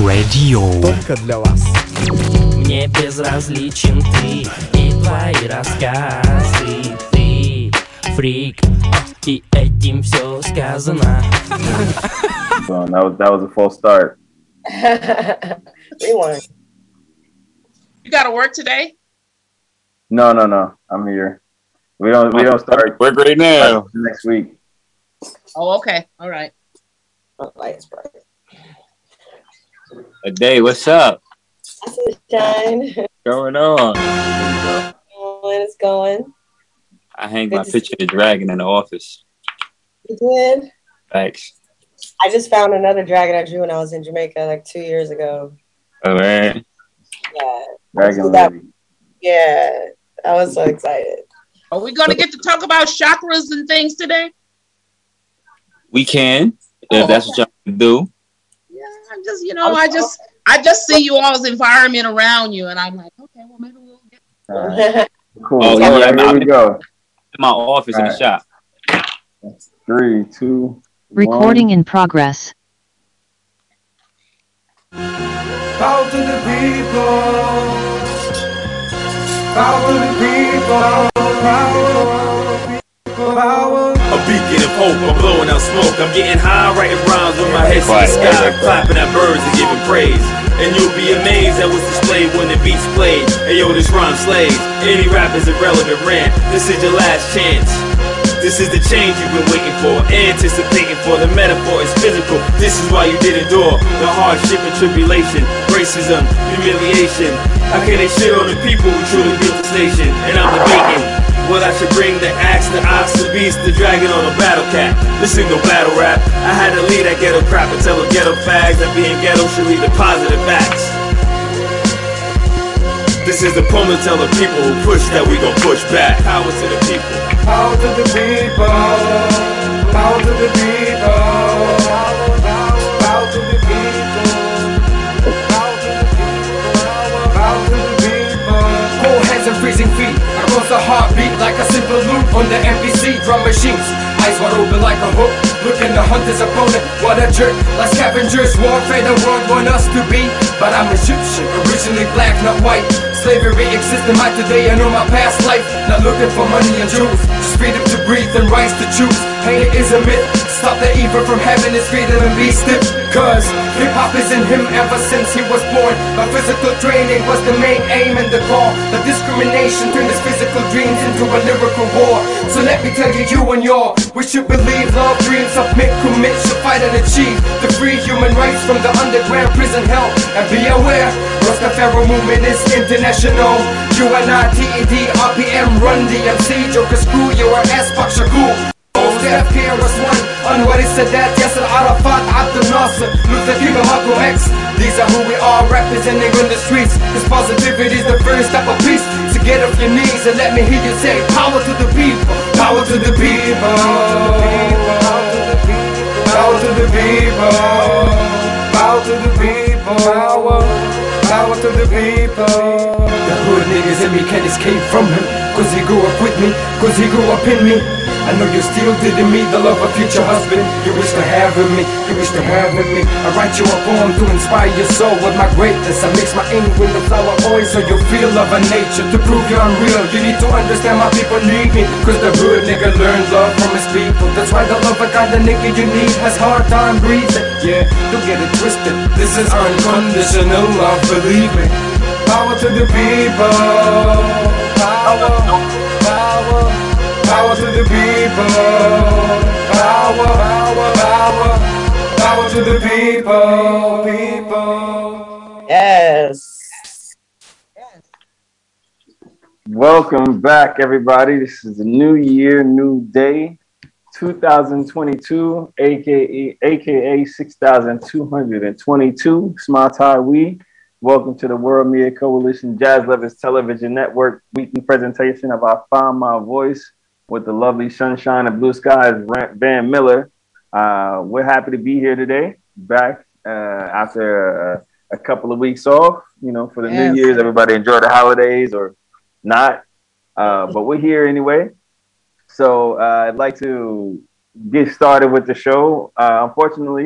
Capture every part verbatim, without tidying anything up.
Radio. Только для вас. Мне безразличен ты и твои рассказы. Ты фрик, и этим все сказано. So that was that was a false start. Rewind. You got to work today? No, no, no. I'm here. We don't we don't start. We're great now. Next week. Oh, okay. All right. Oh, lights bright. A day. What's up? Sunshine. What's going on? When it's going. I hang Good my to picture of the dragon in the office. You did? Thanks. I just found another dragon I drew when I was in Jamaica like two years ago. Oh man. Yeah. Dragon that, lady. yeah. I was so excited. Are we going to get to talk about chakras and things today? We can, if Oh, that's what y'all can do. Yeah, I'm just, you know, I just, I just see you all's environment around you, and I'm like, okay, well, maybe we'll get. All right. Cool. Oh, All yeah, right, yeah, here we go. In my office in the Right. shop. Three, two, Recording one. in progress. Power to the people. Power to the people. Power. Power. A beacon of hope, I'm blowing out smoke. I'm getting high, writing rhymes with my head to the sky, clapping at birds and giving praise. And you'll be amazed at what's displayed when the beat's played. Hey yo, this rhyme slays. Any rap is irrelevant rant. This is your last chance. This is the change you've been waiting for, anticipating for. The metaphor is physical. This is why you did endure the hardship and tribulation, racism, humiliation. How can they shit on the people who truly built this nation? And I'm debating what I should bring: the axe, the ox, the beast, the dragon, or the battle cat. This ain't no battle rap. I had to leave that ghetto crap and tell the ghetto fags that being ghetto should lead to positive acts. This is the poem to tell the people who push that we gon' push back. Power to the people. Power to the people. Power to the people. Power to the people. Power to the people. Power to the people. Cold hands and freezing feet. Across the heartbeat like a simple loop on the M P C drum machines. Eyes wide open like a hook. Looking to hunt his opponent. What a jerk. Like scavengers. Warfare the world want us to be. But I'm Egyptian. Originally black, not white. Slavery exists in my today. I know my past life. Not looking for money and jewels. Just freedom to breathe and rights to choose. Hate is a myth. Stop the evil from having his freedom and be stiff. Cause hip-hop is in him ever since he was born. My physical training was the main aim and the call. The discrimination turned his physical dreams into a lyrical war. So let me tell you, you and your, we should believe love, dreams, submit, commit, should fight and achieve the free human rights from the underground prison hell. And be aware, Rastafari movement is international. U N I T E D, R P M, Run D M C, Joker Screw, you are S-Pac Shakur. F K R S one, Anwar Sadat, Yasser Arafat, Abdel Nasser, Luther King, Malcolm X. These are who we are, representing on the streets. This positivity is the first step of peace. So get off your knees and let me hear you say, power to the people, power to the people, Power to the people. Power to the people. Power. Power to the people. The hood niggas in me can't escape from him. Cause he grew up with me, cause he grew up in me. I know you still didn't meet the love of future husband. You wish to have in me, you wish to have in me. I write you a poem to inspire your soul with my greatness. I mix my ink with the flower oil so you feel love of nature. To prove you're unreal, you need to understand my people need me. Cause the hood nigga learns love from his people. That's why the love of kind of nigga you need has hard time breathing. Yeah, don't get it twisted, this is unconditional love, believe me. Power to the people. Power. Power. Power to the people. Power. Power. Power. Power to the people. People. Yes. Welcome back, everybody. This is a new year, new day, two thousand twenty-two, aka aka six thousand two hundred twenty-two. Small Tie We. Welcome to the World Media Coalition Jazz Lovers Television Network weekly presentation of our Find My Voice with the lovely sunshine and blue skies, Van Miller. Uh, we're happy to be here today, back uh, after uh, a couple of weeks off, you know, for the Yes. New Year's. Everybody enjoy the holidays or not, uh, but we're here anyway. So uh, I'd like to get started with the show. Uh, unfortunately,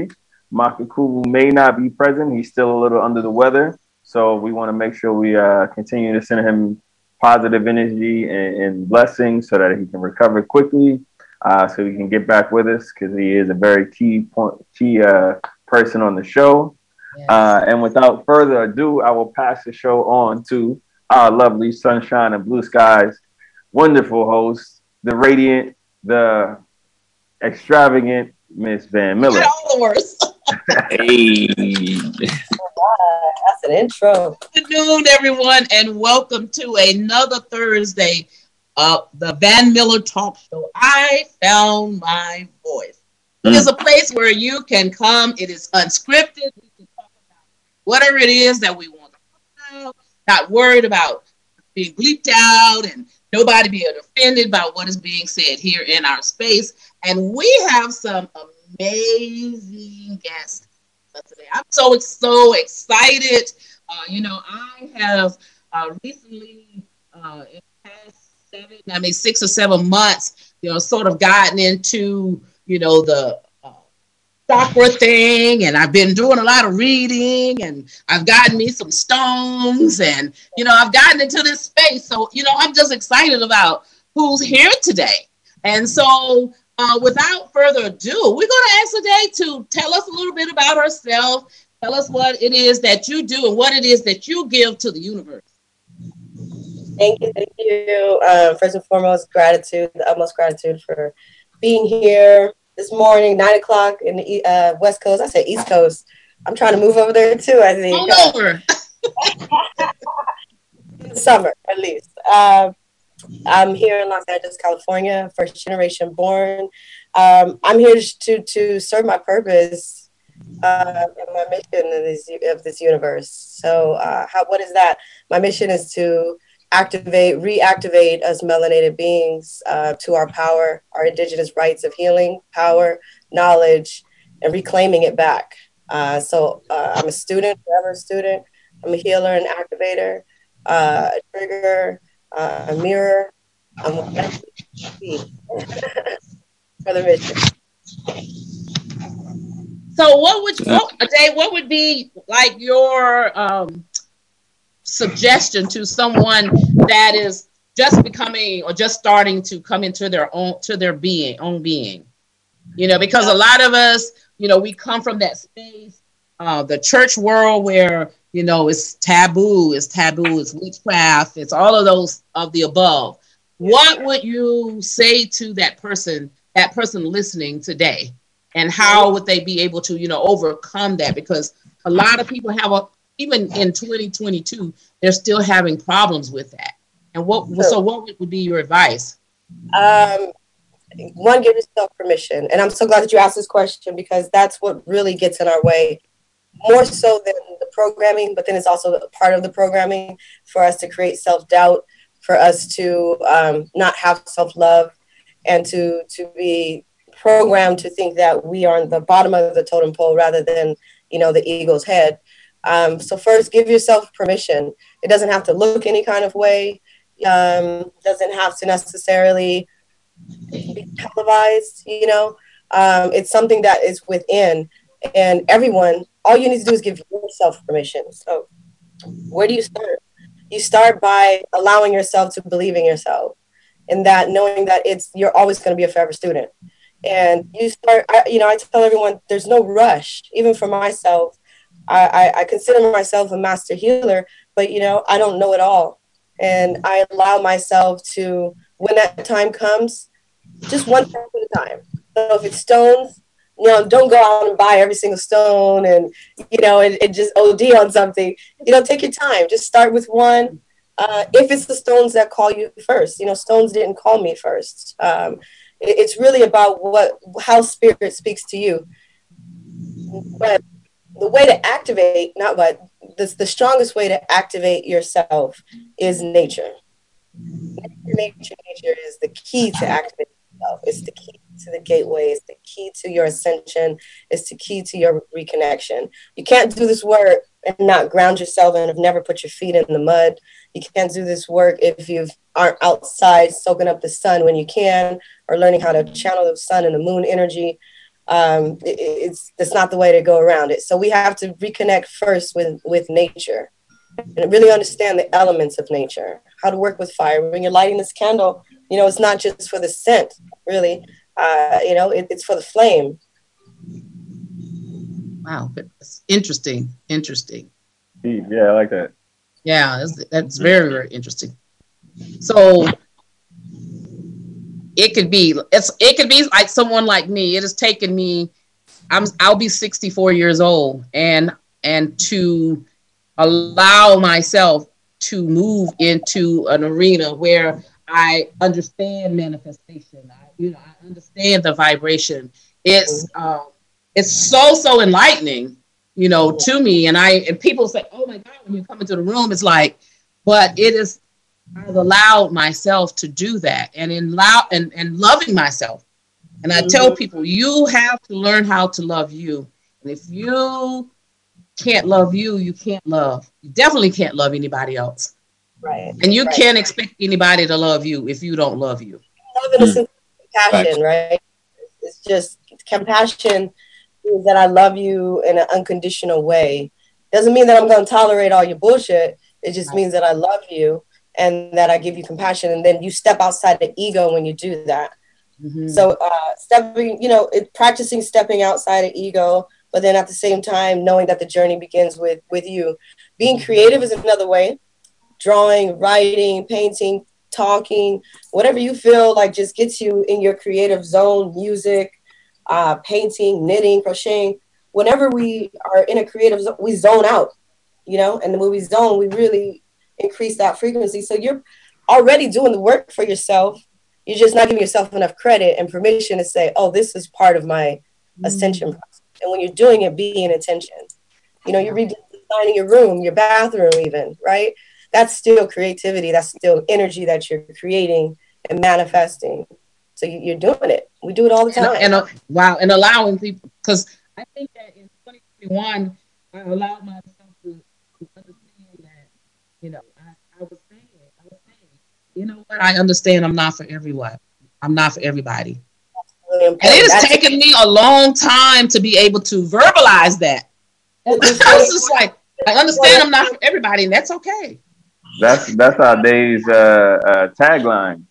Makakubu may not be present. He's still a little under the weather. So we want to make sure we uh, continue to send him positive energy and, and blessings so that he can recover quickly, uh, so he can get back with us because he is a very key point, key uh, person on the show. Yes. Uh, and without further ado, I will pass the show on to our lovely Sunshine and Blue Skies, wonderful host, the radiant, the extravagant Miss Van Miller. All the worst. Hey. That's an intro. Good afternoon, everyone, and welcome to another Thursday of the Van Miller Talk Show. I found my voice. Mm. It is a place where you can come. It is unscripted. We can talk about whatever it is that we want to talk about. Not worried about being bleeped out and nobody being offended by what is being said here in our space. And we have some amazing guests today. I'm so so excited. Uh, you know, I have uh, recently, uh, in the past seven, I mean six or seven months, you know, sort of gotten into, you know, the uh, chakra thing, and I've been doing a lot of reading, and I've gotten me some stones, and you know, I've gotten into this space. So, you know, I'm just excited about who's here today, and so. Uh, without further ado, we're going to ask today to tell us a little bit about herself. Tell us what it is that you do and what it is that you give to the universe. Thank you. Thank you. Um, first and foremost, gratitude, the utmost gratitude for being here this morning, nine o'clock in the uh, West Coast. I said East Coast. I'm trying to move over there too, I think. All over. In the summer, at least. Uh, I'm here in Los Angeles, California, first generation born. Um, I'm here to to serve my purpose uh, and my mission in this, of this universe. So uh, how, what is that? My mission is to activate, reactivate us melanated beings uh, to our power, our indigenous rights of healing, power, knowledge, and reclaiming it back. Uh, so uh, I'm a student, forever a student. I'm a healer and activator, uh, a trigger, Uh, a mirror, I'm for the mission. So, what would what, Dave, what would be like your um, suggestion to someone that is just becoming or just starting to come into their own to their being own being? You know, because a lot of us, you know, we come from that space, uh, the church world where. You know, it's taboo, it's taboo, it's witchcraft, it's all of those of the above. What would you say to that person, that person listening today? And how would they be able to, you know, overcome that? Because a lot of people have, a, even in twenty twenty-two, they're still having problems with that. And what, so, so what would be your advice? Um, one, give yourself permission. And I'm so glad that you asked this question because that's what really gets in our way. More so than the programming, but then it's also a part of the programming for us to create self-doubt, for us to um, not have self-love, and to to be programmed to think that we are on the bottom of the totem pole rather than, you know, the eagle's head. Um, so first, give yourself permission. It doesn't have to look any kind of way. Um, doesn't have to necessarily be televised, you know. Um, it's something that is within. And everyone, all you need to do is give yourself permission. So where do you start? You start by allowing yourself to believe in yourself and that knowing that it's you're always going to be a forever student. And you start, I, you know, I tell everyone there's no rush. Even for myself, I, I, I consider myself a master healer, but, you know, I don't know it all. And I allow myself to, when that time comes, just one step at a time. So if it's stones, you know, don't go out and buy every single stone and, you know, and, and just O D on something. You know, take your time. Just start with one. Uh, if it's the stones that call you first, you know, stones didn't call me first. Um, it, it's really about what, how spirit speaks to you. But the way to activate, not what, the, the strongest way to activate yourself is nature. Nature, nature, nature is the key to activating yourself. It's the key to the gateway. It's the key to your ascension. It's the key to your reconnection. You can't do this work and not ground yourself and have never put your feet in the mud. You can't do this work if you aren't outside soaking up the sun when you can, or learning how to channel the sun and the moon energy. um, it, it's it's not the way to go around it. So we have to reconnect first with with nature and really understand the elements of nature, how to work with fire. When you're lighting this candle, you know, it's not just for the scent, really. Uh, you know, it, it's for the flame. Wow, that's interesting. Interesting. Yeah, I like that. Yeah, that's, that's very, very interesting. So it could be, it's it could be like someone like me. It has taken me, I'm I'll be sixty-four years old, and and to allow myself to move into an arena where I understand manifestation. I, you know, I understand the vibration. It's um, it's so so enlightening, you know, to me. And I and people say, "Oh my God!" When you come into the room, it's like, but it is. I've allowed myself to do that, and in allow and and loving myself. And I tell people, you have to learn how to love you. And if you can't love you, you can't love. You definitely can't love anybody else. Right. And you right. can't expect anybody to love you if you don't love you. Love and mm. compassion, right? It's just compassion means that I love you in an unconditional way. Doesn't mean that I'm going to tolerate all your bullshit. It just right. means that I love you and that I give you compassion. And then you step outside the ego when you do that. Mm-hmm. So uh, stepping, you know, it, practicing stepping outside of ego, but then at the same time, knowing that the journey begins with, with you. Being creative is another way. Drawing, writing, painting, talking, whatever you feel like just gets you in your creative zone, music, uh, painting, knitting, crocheting. Whenever we are in a creative zone, we zone out, you know, and when we zone, we really increase that frequency. So you're already doing the work for yourself. You're just not giving yourself enough credit and permission to say, oh, this is part of my mm. ascension process. And when you're doing it, be in attention. You know, you're redesigning your room, your bathroom even, right? That's still creativity. That's still energy that you're creating and manifesting. So you, you're doing it. We do it all the time. And, and uh, wow, and allowing people, because I think that in twenty twenty-one, I allowed myself to, to understand that, you know, I, I was saying, I was saying, you know what? I understand I'm not for everyone. I'm not for everybody. Really and it has taken me a long time to be able to verbalize that. I was just like, I understand I'm not for everybody, and that's okay. That's that's our day's uh, uh, tagline.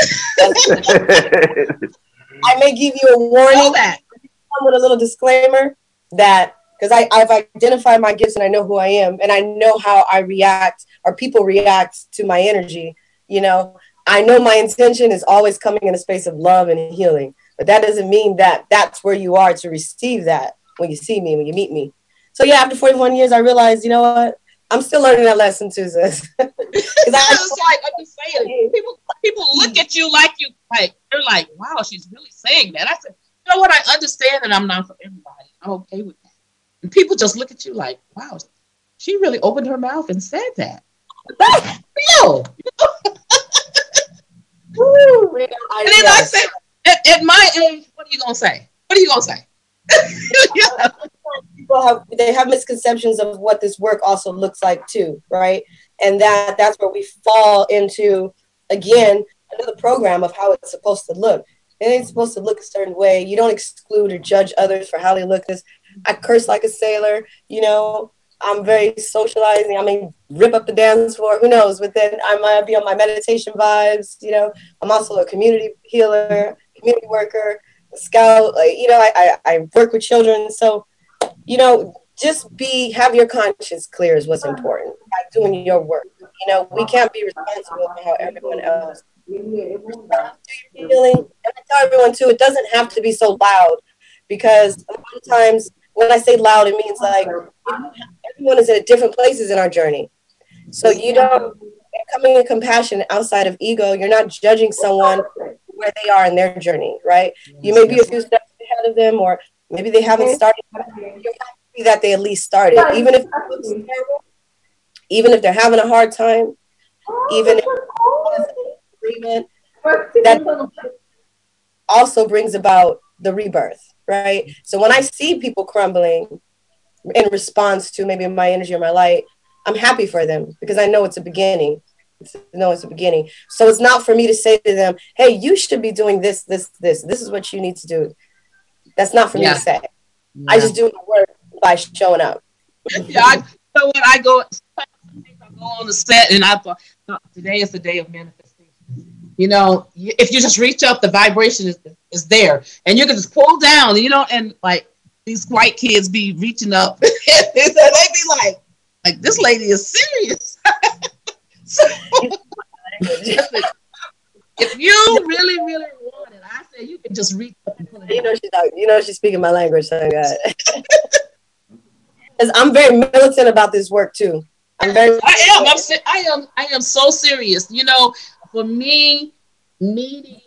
I may give you a warning that with a little disclaimer that because I I've identified my gifts and I know who I am and I know how I react or people react to my energy. You know, I know my intention is always coming in a space of love and healing, but that doesn't mean that that's where you are to receive that when you see me, when you meet me. So yeah, after forty-one years, I realized, you know what? I'm still learning that lesson too, sis. Because I was like, I'm just saying, people, people look at you like you, like they're like, wow, she's really saying that. I said, you know what? I understand that I'm not for everybody. I'm okay with that. And people just look at you like, wow, she really opened her mouth and said that. That's real. Woo, and then I said, at, at my age, what are you gonna say? What are you gonna say? Yeah. People have they have misconceptions of what this work also looks like too, right? And that that's where we fall into again another program of how it's supposed to look. It ain't supposed to look a certain way. You don't exclude or judge others for how they look. This I curse like a sailor, you know. I'm very socializing. I mean, rip up the dance floor. Who knows? But then I might be on my meditation vibes. You know, I'm also a community healer, community worker, a scout. Like, you know, I, I I work with children. So, you know, just be have your conscience clear is what's important. By doing your work. You know, we can't be responsible for how everyone else. Do your healing. And I tell everyone too, it doesn't have to be so loud, because a lot of times when I say loud, it means like everyone is at different places in our journey. So you don't coming in compassion outside of ego. You're not judging someone where they are in their journey, right? You may be a few steps ahead of them, or maybe they haven't started. You're happy that they at least started, even if it looks terrible, even if they're having a hard time, even if agreement, that also brings about the rebirth, right? So when I see people crumbling in response to maybe my energy or my light, I'm happy for them because I know it's a beginning. It's, no, it's a beginning. So it's not for me to say to them, hey, you should be doing this, this, this. This is what you need to do. That's not for Yeah. me to say. Yeah. I just do my work by showing up. Yeah, I, you know what? I go, I go on the set and I thought, no, today is the day of manifestation. You know, you- if you just reach up, the vibration is, is there, and you can just pull down. You know, and like these white kids be reaching up, and they be like, like this lady is serious. So, listen, if you really, really want it, I say you can just reach up and pull it You down. know she's not, you know she's speaking my language, son God. Because I'm very militant about this work too. I'm very. I am. I'm. se- I am. I am so serious. You know, for me, meeting.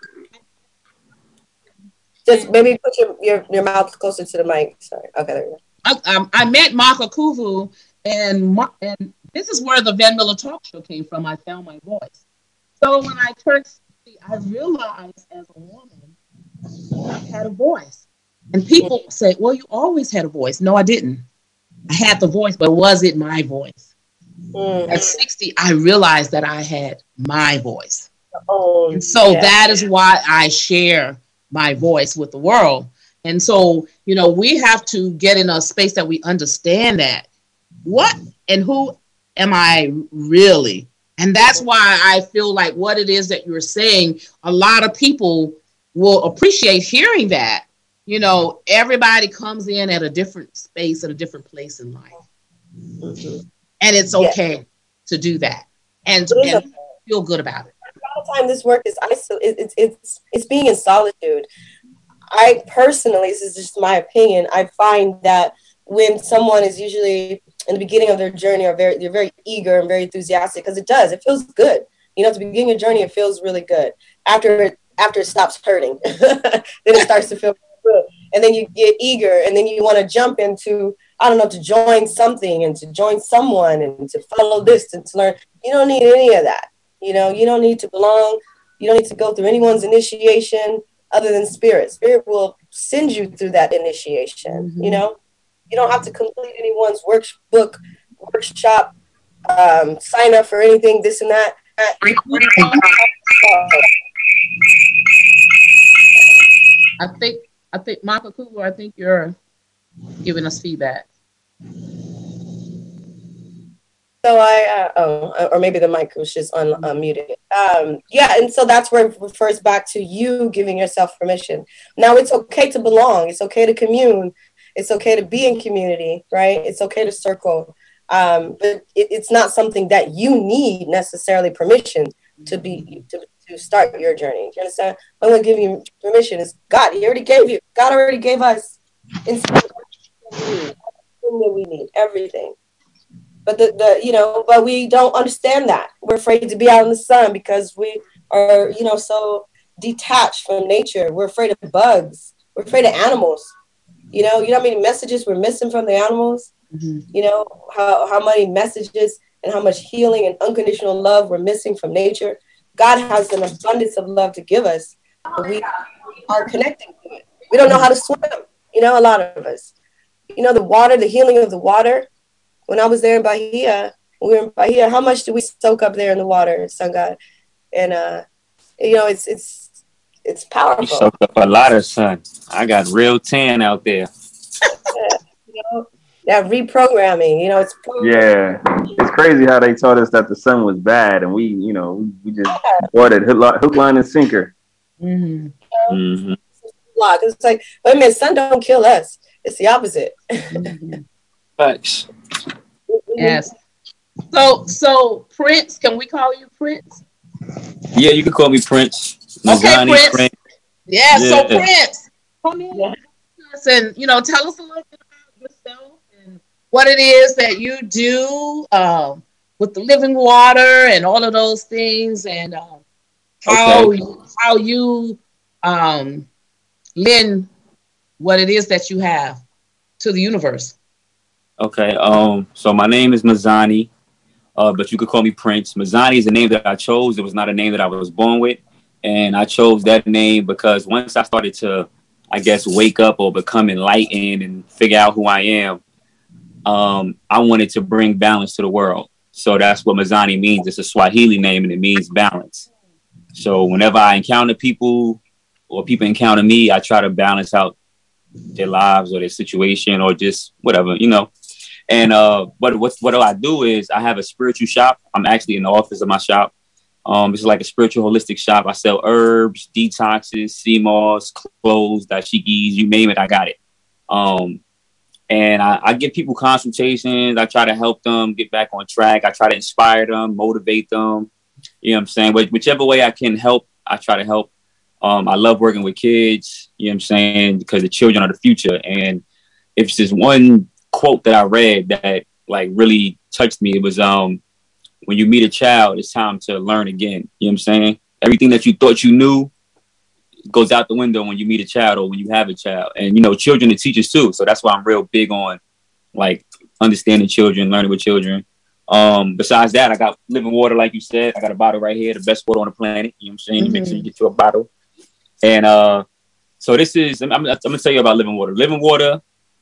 Just maybe put your, your your mouth closer to the mic. Sorry. Okay, there you go. I, um, I met Maka Kuvu, and Ma- and this is where the Van Miller Talk Show came from. I found my voice. So when I turned sixty, I realized as a woman, I had a voice. And people say, "Well, you always had a voice." No, I didn't. I had the voice, but was it my voice? Mm. At sixty, I realized that I had my voice. Oh, And so yeah. that is why I share my voice with the world. And so, you know, we have to get in a space that we understand that what and who am I really? And that's why I feel like what it is that you're saying, a lot of people will appreciate hearing that. You know, everybody comes in at a different space, at a different place in life. Mhm. And it's okay to do that and, It is and okay. feel good about it. A lot of time this work is isol- it, it's it's it's being in solitude. I personally, this is just my opinion, I find that when someone is usually in the beginning of their journey or very they're very eager and very enthusiastic, because it does, it feels good. You know, at the beginning of your journey, it feels really good. After it after it stops hurting, then it starts to feel good. And then you get eager and then you want to jump into, I don't know, to join something and to join someone and to follow this and to learn. You don't need any of that. You know, you don't need to belong. You don't need to go through anyone's initiation other than spirit. Spirit will send you through that initiation. Mm-hmm. You know, you don't have to complete anyone's workbook, workshop, um, sign up for anything, this and that. I think, I think, Maka Kuvu, I think you're giving us feedback. So I, uh, oh, or maybe the mic was just un- unmuted. Um, yeah, and so that's where it refers back to you giving yourself permission. Now it's okay to belong. It's okay to commune. It's okay to be in community, right? It's okay to circle. Um, but it, it's not something that you need necessarily permission to be to, to start your journey. Do you understand? I'm going to give you permission. Is God. He already gave you. God already gave us everything that we need, everything. But the, the you know, but we don't understand that. We're afraid to be out in the sun because we are, you know, so detached from nature. We're afraid of bugs. We're afraid of animals. You know, you know how many messages we're missing from the animals? Mm-hmm. You know, how, how many messages and how much healing and unconditional love we're missing from nature. God has an abundance of love to give us, but we are connecting to it. We don't know how to swim, you know, a lot of us. You know, the water, the healing of the water. When I was there in Bahia, when we were in Bahia, how much did we soak up there in the water, Sun God? And, uh, you know, it's it's it's powerful. You soaked up a lot of sun. I got real tan out there. Yeah, you know, that reprogramming, you know, it's Yeah, it's crazy how they told us that the sun was bad, and we, you know, we, we just bought it hook, li- hook, line, and sinker. Mm-hmm. Mm-hmm. It's like, wait a minute, sun don't kill us. It's the opposite. Mm-hmm. Thanks. Yes. So, so Prince, can we call you Prince? Yeah, you can call me Prince. Okay, Mazani, Prince. Prince. Yeah, Yeah. so Prince, come in Yeah. and, you know, tell us a little bit about yourself and what it is that you do um, with the living water and all of those things, and um, how Okay. you, how you um, lend what it is that you have to the universe. Okay. Um. So my name is Mazani, uh, but you could call me Prince. Mazani is a name that I chose. It was not a name that I was born with, and I chose that name because once I started to, I guess, wake up or become enlightened and figure out who I am, um, I wanted to bring balance to the world. So that's what Mazani means. It's a Swahili name, and it means balance. So whenever I encounter people or people encounter me, I try to balance out their lives or their situation or just whatever, you know. And uh, but what what I do is I have a spiritual shop. I'm actually in the office of my shop. Um, it's like a spiritual holistic shop. I sell herbs, detoxes, sea moss, clothes, dashikis, you name it, I got it. Um, and I, I give people consultations. I try to help them get back on track. I try to inspire them, motivate them. You know what I'm saying? But whichever way I can help, I try to help. Um, I love working with kids, you know what I'm saying? Because the children are the future. And if it's just one quote that I read that like really touched me, it was, um, when you meet a child, it's time to learn again. You know what I'm saying? Everything that you thought you knew goes out the window when you meet a child or when you have a child. And, you know, children are teachers too. So that's why I'm real big on like understanding children, learning with children. Um, besides that, I got living water, like you said. I got a bottle right here, the best water on the planet. You know what I'm saying? Mm-hmm. You make sure you get you a bottle. And uh, so this is, I'm, I'm, I'm going to tell you about living water. Living water,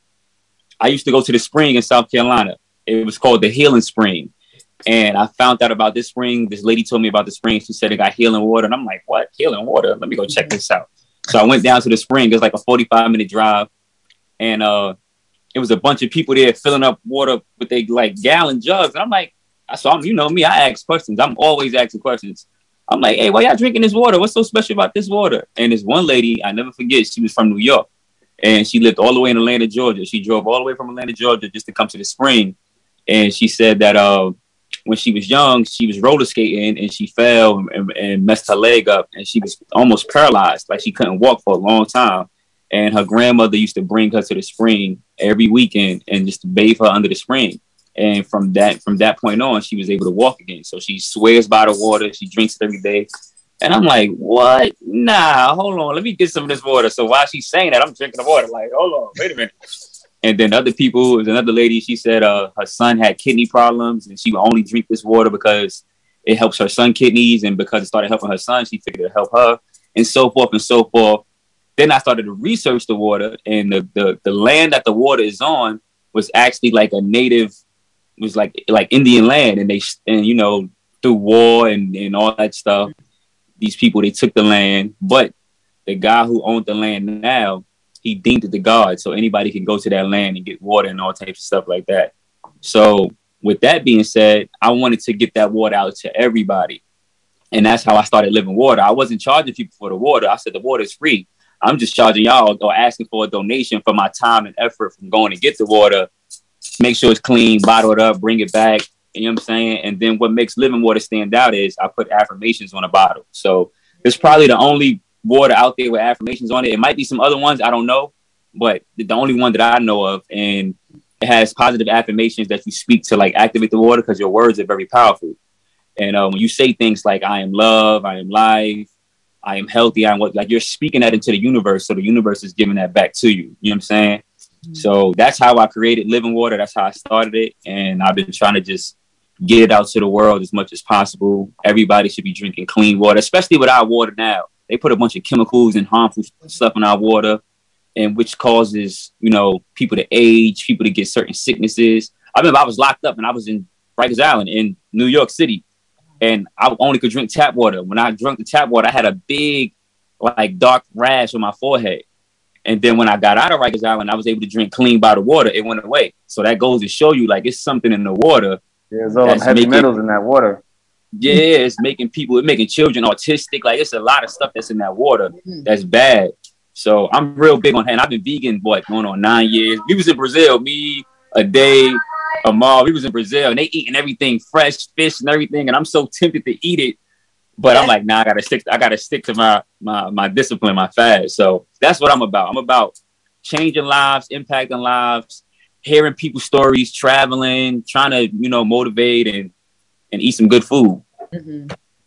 I used to go to the spring in South Carolina. It was called the Healing Spring. And I found out about this spring. This lady told me about the spring. She said it got healing water. And I'm like, what? Healing water? Let me go check this out. So I went down to the spring. It was like a forty-five minute drive. And uh, it was a bunch of people there filling up water with their like gallon jugs. And I'm like, I saw them, you know me, I ask questions. I'm always asking questions. I'm like, hey, why y'all drinking this water? What's so special about this water? And this one lady, I never forget, she was from New York. And she lived all the way in Atlanta, Georgia. She drove all the way from Atlanta, Georgia just to come to the spring. And she said that uh, when she was young, she was roller skating and she fell and, and messed her leg up. And she was almost paralyzed. Like she couldn't walk for a long time. And her grandmother used to bring her to the spring every weekend and just bathe her under the spring. And from that from that point on, she was able to walk again. So she swears by the water. She drinks it every day. And I'm like, what? Nah, hold on. Let me get some of this water. So while she's saying that, I'm drinking the water. Like, hold on, wait a minute. And then other people, there's another lady, she said uh, her son had kidney problems and she would only drink this water because it helps her son kidneys. And because it started helping her son, she figured it help her and so forth and so forth. Then I started to research the water, and the, the, the land that the water is on was actually like a native, was like like Indian land. And they, and you know, through war and, and all that stuff, these people, they took the land. But the guy who owned the land now, he deemed it the God. So anybody can go to that land and get water and all types of stuff like that. So with that being said, I wanted to get that water out to everybody. And that's how I started living water. I wasn't charging people for the water. I said the water is free. I'm just charging y'all or asking for a donation for my time and effort from going to get the water, make sure it's clean, bottle it up, bring it back. You know what I'm saying? And then what makes living water stand out is I put affirmations on a bottle. So it's probably the only water out there with affirmations on it. It might be some other ones, I don't know, but the only one that I know of. And it has positive affirmations that you speak to like activate the water because your words are very powerful. And uh, when you say things like I am love, I am life, I am healthy, I am what, like you're speaking that into the universe. So the universe is giving that back to you. You know what I'm saying? Mm-hmm. So that's how I created Living Water. That's how I started it. And I've been trying to just get it out to the world as much as possible. Everybody should be drinking clean water, especially with our water now. They put a bunch of chemicals and harmful stuff in our water, and which causes, you know, people to age, people to get certain sicknesses. I remember I was locked up and I was in Rikers Island in New York City. And I only could drink tap water. When I drank the tap water, I had a big, like, dark rash on my forehead. And then when I got out of Rikers Island, I was able to drink clean bottled water. It went away. So that goes to show you, like, it's something in the water. Yeah, there's all heavy making, metals in that water. Yeah, it's making people, it's making children autistic. Like, it's a lot of stuff that's in that water that's bad. So I'm real big on, and I've been vegan, what, going on nine years. We was in Brazil, me, a day. Amal, we was in Brazil and they eating everything fresh, fish and everything, and I'm so tempted to eat it, but I'm like, nah, I gotta stick. I gotta stick to my my my discipline, my fast. So that's what I'm about. I'm about changing lives, impacting lives, hearing people's stories, traveling, trying to you know motivate and and eat some good food. Mm-hmm.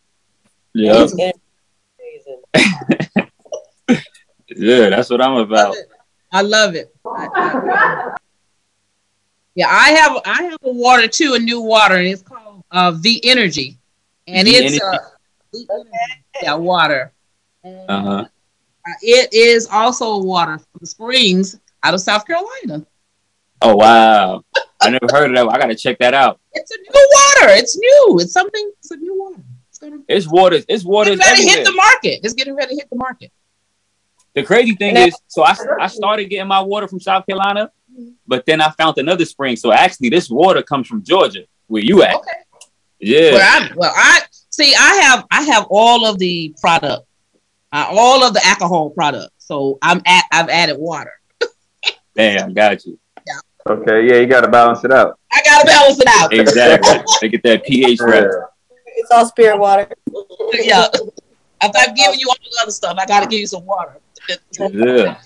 Yeah, yeah, that's what I'm about. I love it. I love it. Yeah, I have I have a water too, a new water, and it's called uh, V Energy, and v it's uh, yeah water. Uh-huh. Uh, it is also a water from the springs out of South Carolina. Oh wow! I never heard of that. I gotta check that out. It's a new water. It's new. It's something. It's a new water. It's, gonna, it's water. It's water. It's ready to hit the market. It's getting ready to hit the market. The crazy thing is, so I, I started getting my water from South Carolina, but then I found another spring. So actually, this water comes from Georgia, where you at. Okay. Yeah. Well, I, well, I see. I have I have all of the product, uh, all of the alcohol product. So I'm at. I've added water. Damn, got you. Yeah. Okay, yeah, you got to balance it out. I gotta balance it out. Exactly. They get that pH right. It's all spirit water. Yeah. If I've given you all the other stuff, I gotta give you some water. Yeah.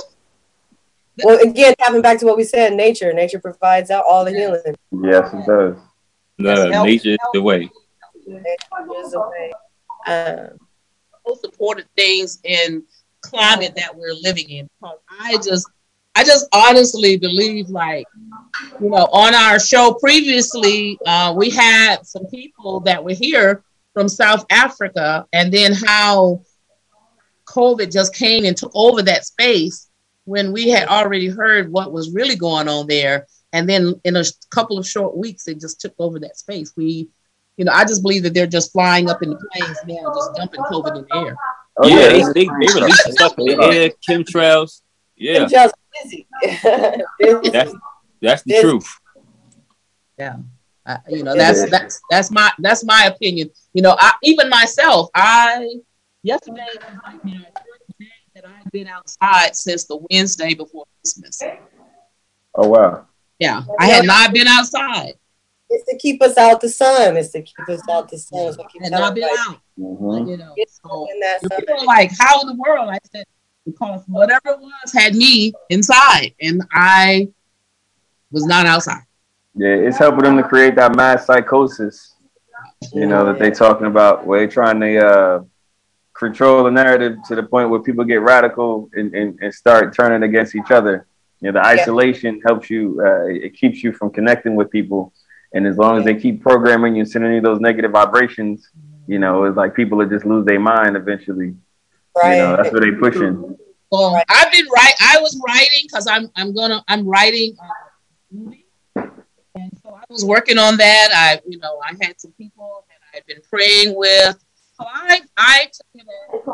Well, again, tapping back to what we said, nature. Nature provides out all the healing. Yes, it does. No, nature is the way. Nature is the way. Um, Most important things in climate that we're living in. I just, I just honestly believe, like, you know, on our show previously, uh, we had some people that were here from South Africa, and then how COVID just came and took over that space when we had already heard what was really going on there. And then in a couple of short weeks, it just took over that space. We, you know, I just believe that they're just flying up in the planes now, just dumping COVID in the air. Oh, yeah, yeah, they, they, they released stuff in the air, chemtrails. Yeah. Chemtrails busy. That's, that's the truth. Yeah. Uh, you know, that's that's that's my that's my opinion. You know, I even myself, I yesterday was like my first day that I've been outside since the Wednesday before Christmas. Oh wow. Yeah, I had not been outside. It's to keep us out the sun. It's to keep us out the sun. So keep and not been like, out. Mm-hmm. You know, It's so in that sun. people are like, how in the world? I said, because whatever it was had me inside, and I was not outside. Yeah, it's helping them to create that mass psychosis, you know, that they're talking about, where they're trying to uh, control the narrative to the point where people get radical and, and, and start turning against each other. You know, the isolation yeah. helps you, uh, it keeps you from connecting with people. And as long as they keep programming you, sending you those negative vibrations, you know, it's like people will just lose their mind eventually. Right. You know, that's what they're pushing. Well, right. I've been right. I was writing because I'm I'm gonna I'm writing a movie. And so I was working on that. I, you know, I had some people that I had been praying with. So I, I took it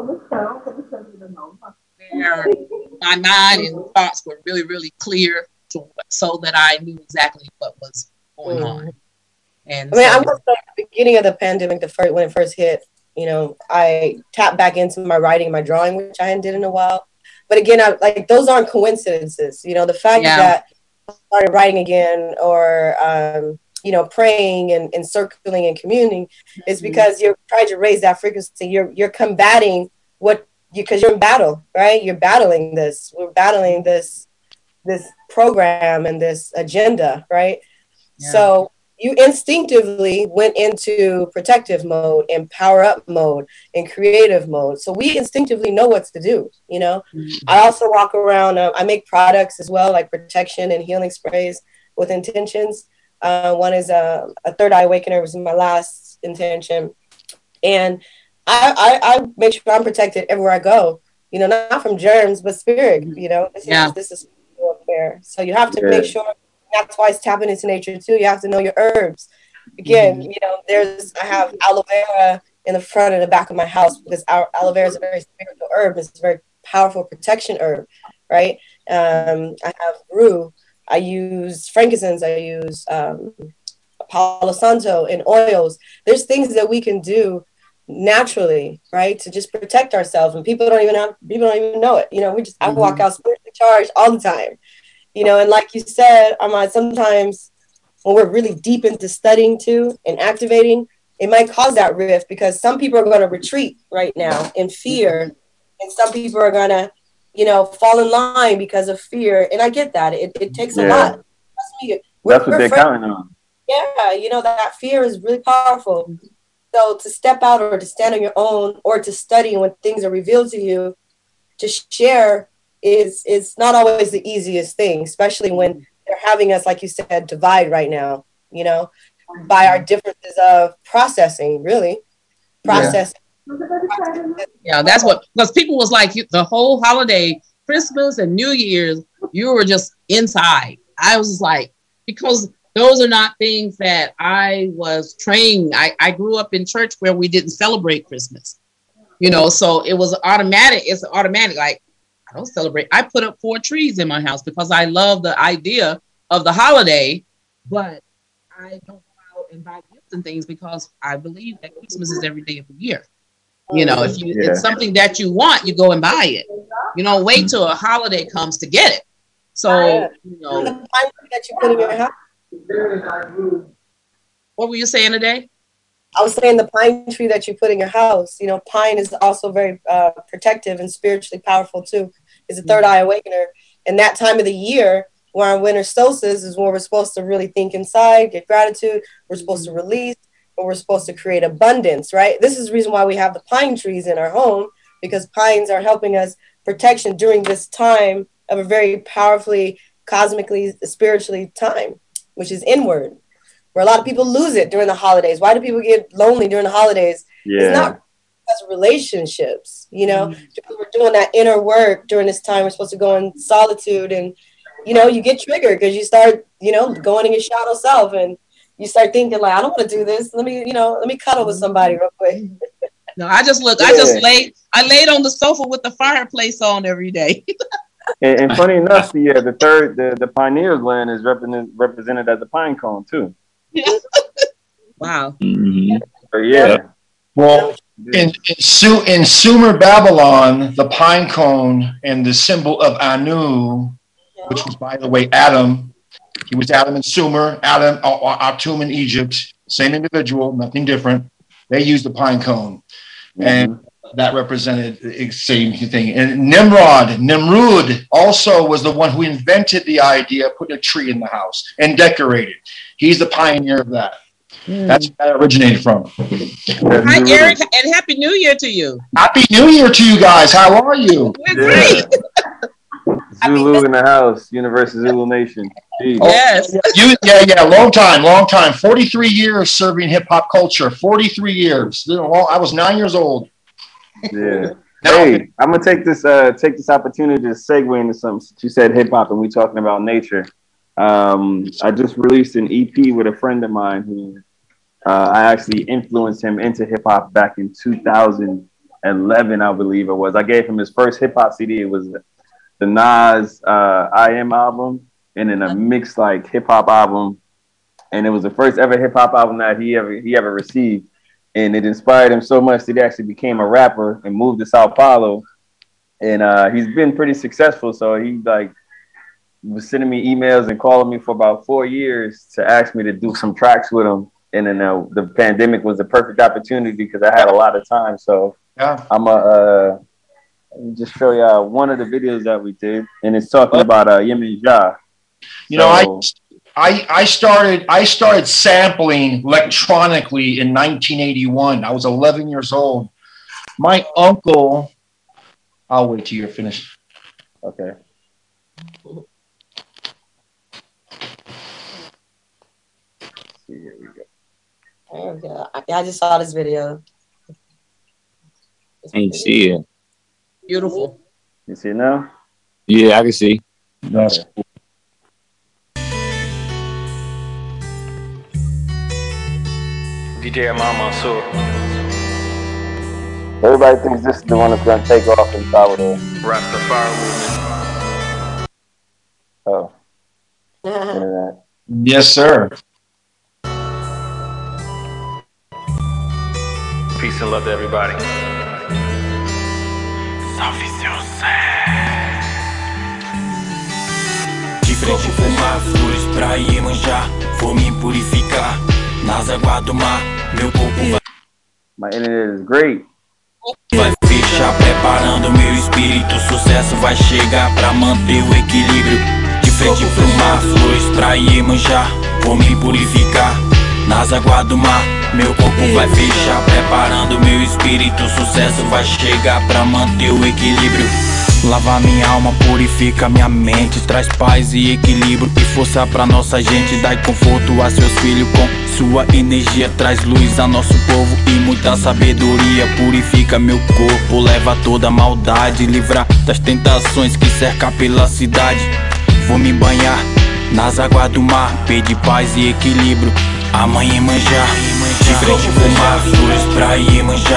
where my mind and thoughts were really, really clear, to, so that I knew exactly what was going on. And I mean, so, I was like, at the beginning of the pandemic, the first when it first hit, you know, I tapped back into my writing, my drawing, which I hadn't did in a while. But again, I, like those aren't coincidences. You know, the fact yeah. that started writing again or um you know praying and, and circling and communing mm-hmm. is because you're trying to raise that frequency. You're you're combating what you because you're in battle, right? You're battling this. We're battling this this program and this agenda, right? Yeah. So you instinctively went into protective mode and power up mode and creative mode. So we instinctively know what to do, you know. Mm-hmm. I also walk around, uh, I make products as well, like protection and healing sprays with intentions. Uh, one is a, a third eye awakener, was my last intention. And I, I, I make sure I'm protected everywhere I go, you know, not from germs, but spirit, you know. This yeah. is, this is warfare. So you have to yeah. make sure. That's why it's tapping into nature too. You have to know your herbs. Again, mm-hmm. you know, there's I have aloe vera in the front and the back of my house because our aloe vera is a very spiritual herb. It's a very powerful protection herb, right? Um, I have rue. I use frankincense. I use um, Palo Santo and oils. There's things that we can do naturally, right, to just protect ourselves, and people don't even have people don't even know it. You know, we just mm-hmm. I walk out spiritually charged all the time. You know, and like you said, Ahmad, sometimes when we're really deep into studying too and activating, it might cause that rift because some people are going to retreat right now in fear. And some people are going to, you know, fall in line because of fear. And I get that. It, it takes yeah. a lot. Trust me, That's what they're counting on. Yeah, you know, that fear is really powerful. So to step out or to stand on your own or to study when things are revealed to you, to share is is not always the easiest thing, especially when they're having us, like you said, divide right now, you know, by our differences of processing, really. Processing. Yeah, yeah that's what, because people was like, the whole holiday, Christmas and New Year's, you were just inside. I was like, because those are not things that I was trained. I, I grew up in church where we didn't celebrate Christmas, you know, so it was automatic. It's automatic, like, I don't celebrate. I put up four trees in my house because I love the idea of the holiday, but I don't go out and buy gifts and things because I believe that Christmas is every day of the year. You know, if you Yeah. it's something that you want, you go and buy it. You don't wait till a holiday comes to get it. So, you know, The pine tree that you put in your house. what were you saying today? I was saying the pine tree that you put in your house. You know, pine is also very uh, protective and spiritually powerful too. It's a third eye awakener. And that time of the year, where our winter solstice is where we're supposed to really think inside, get gratitude. We're supposed to release, but we're supposed to create abundance, right? This is the reason why we have the pine trees in our home, because pines are helping us protection during this time of a very powerfully, cosmically, spiritually time, which is inward, where a lot of people lose it during the holidays. Why do people get lonely during the holidays? Yeah. It's not because of relationships, you know, mm-hmm. We're doing that inner work during this time. We're supposed to go in solitude, and, you know, you get triggered because you start, you know, going in your shadow self, and you start thinking like, I don't want to do this. Let me, you know, let me cuddle with somebody real quick. No, I just look, Yeah. I just laid, I laid on the sofa with the fireplace on every day. And, and funny enough, the uh, the third the, the pineal gland is represented represented as a pine cone too. Wow. Mm-hmm. So yeah. Well, in in, Su- in Sumer, Babylon, the pine cone and the symbol of Anu, which was, by the way, Adam. He was Adam in Sumer, Adam, Atum in Egypt. Same individual, nothing different. They used the pine cone, and mm-hmm. that represented the same thing. And Nimrod, Nimrud, also was the one who invented the idea of putting a tree in the house and decorated. He's the pioneer of that. Mm. That's where that originated from. Hi, Eric, and Happy New Year to you. Happy New Year to you guys. How are you? We're Yeah. great. Zulu in the house, Universal Zulu Nation. Jeez. Yes. You, yeah, yeah, long time, long time. forty-three years serving hip hop culture. forty-three years. I was nine years old. Yeah. Hey, I'm gonna take this uh take this opportunity to segue into something. Since you said hip hop and we talking about nature. Um, I just released an E P with a friend of mine who uh, I actually influenced him into hip hop back in two thousand eleven, I believe it was. I gave him his first hip hop C D. It was the Nas uh, I Am album, and then a mixed like hip hop album, and it was the first ever hip hop album that he ever he ever received, and it inspired him so much that he actually became a rapper and moved to Sao Paulo, and uh, he's been pretty successful. So he like was sending me emails and calling me for about four years to ask me to do some tracks with him, and then uh, the pandemic was the perfect opportunity because I had a lot of time. So yeah, I'm a. Uh, Let me just show y'all one of the videos that we did, and it's talking about uh, Yemen Ja. You know, so, I, I I started I started sampling electronically in nineteen eighty-one. I was eleven years old. My uncle, I'll wait till you're finished. Okay. Here we go. There we go. I, I just saw this video. Ain't see it. Beautiful. You see it now? Yeah, I can see. That's okay. Cool. D J Imam Mansour. Everybody thinks this is the one that's going to take off in Salvador. Rastafari movement. Oh. Yeah. Yes, sir. Peace and love to everybody. Diferente fumar, flores pra Iemanjá. Vou me purificar nas águas do mar. Meu corpo vai. My internet is great. Vai fechar, preparando meu espírito. Sucesso vai chegar pra manter o equilíbrio. De frente pro mar, flores pra Iemanjá. Vou me purificar nas águas do mar. Meu corpo vai fechar, preparando meu espírito. Sucesso vai chegar pra manter o equilíbrio. Lava minha alma, purifica minha mente. Traz paz e equilíbrio e força pra nossa gente. Dai conforto a seus filhos com sua energia. Traz luz a nosso povo e muita sabedoria. Purifica meu corpo, leva toda a maldade. Livrar das tentações que cerca pela cidade. Vou me banhar nas águas do mar. Pedir paz e equilíbrio. Amanhã Iemanjá, de frente pro mar, flores pra Iemanjá.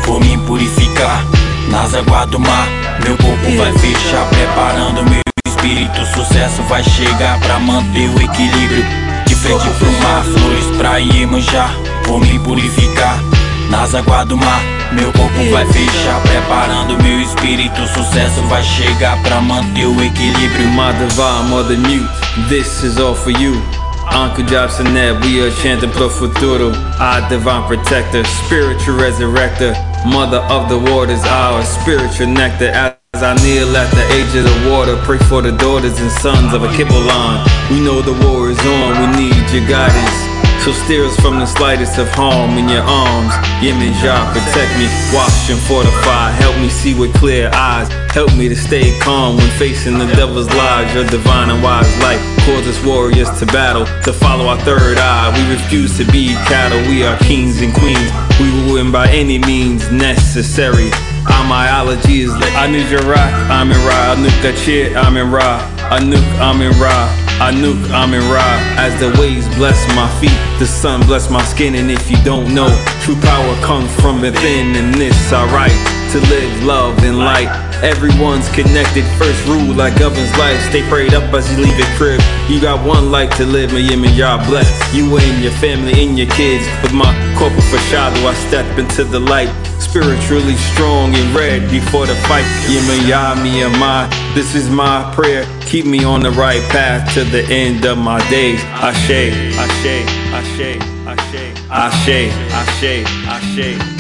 vou me purificar. Nas águas do mar, meu corpo vai fechar, preparando meu espírito. Sucesso vai chegar pra manter o equilíbrio. De frente pro mar, flores pra Iemanjá, vou me purificar. Nas águas do mar, meu corpo vai fechar, preparando meu espírito. Sucesso vai chegar pra manter o equilíbrio. My divine mother mute, this is all for you. Uncle Jobsonet, we are chanting pro futuro. Our divine protector, spiritual resurrector, mother of the waters, our spiritual nectar. As I kneel at the edge of the water, pray for the daughters and sons of a Kibbalan. We know the war is on, we need your guidance. So steer us from the slightest of harm in your arms. Yemenjah, protect me, wash and fortify. Help me see with clear eyes. Help me to stay calm when facing the devil's lies. Your divine and wise light calls us warriors to battle, to follow our third eye. We refuse to be cattle, we are kings and queens. We will win by any means necessary. Our myology is like Anuk Ra, I'm in Ra, Anuk Kachir, I'm in Ra, Anuk, I'm in Ra, Anuk, I'm in Ra. As the waves bless my feet, the sun bless my skin. And if you don't know, true power comes from within. And this I write to live, love, and light. Everyone's connected, first rule that governs life. Stay prayed up as you leave your crib. You got one life to live, and Yemenjah bless you and your family and your kids. With my corporate foreshadow, I step into the light, spiritually strong and ready for the fight. Yemenjah, me and my, this is my prayer. Keep me on the right path to the end of my days. Ashe, Ashe, Ashe, Ashe, Ashe, Ashe, Ashe, Ashe.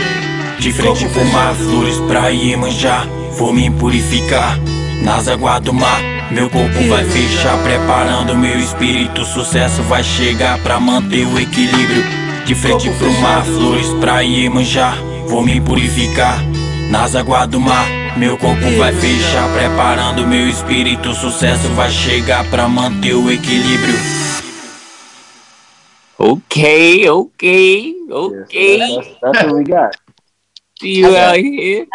De frente pro mar, flores pra Iemanjá, vou me purificar. Nas águas do mar, meu corpo vai fechar, preparando meu espírito. Sucesso vai chegar pra manter o equilíbrio. De frente pro mar, flores pra Iemanjá, vou me purificar. Nas águas do mar, meu corpo vai fechar, preparando meu espírito. Sucesso vai chegar pra manter o equilíbrio. Okay, okay, okay. Yes, that's, that's what we got. See you out here.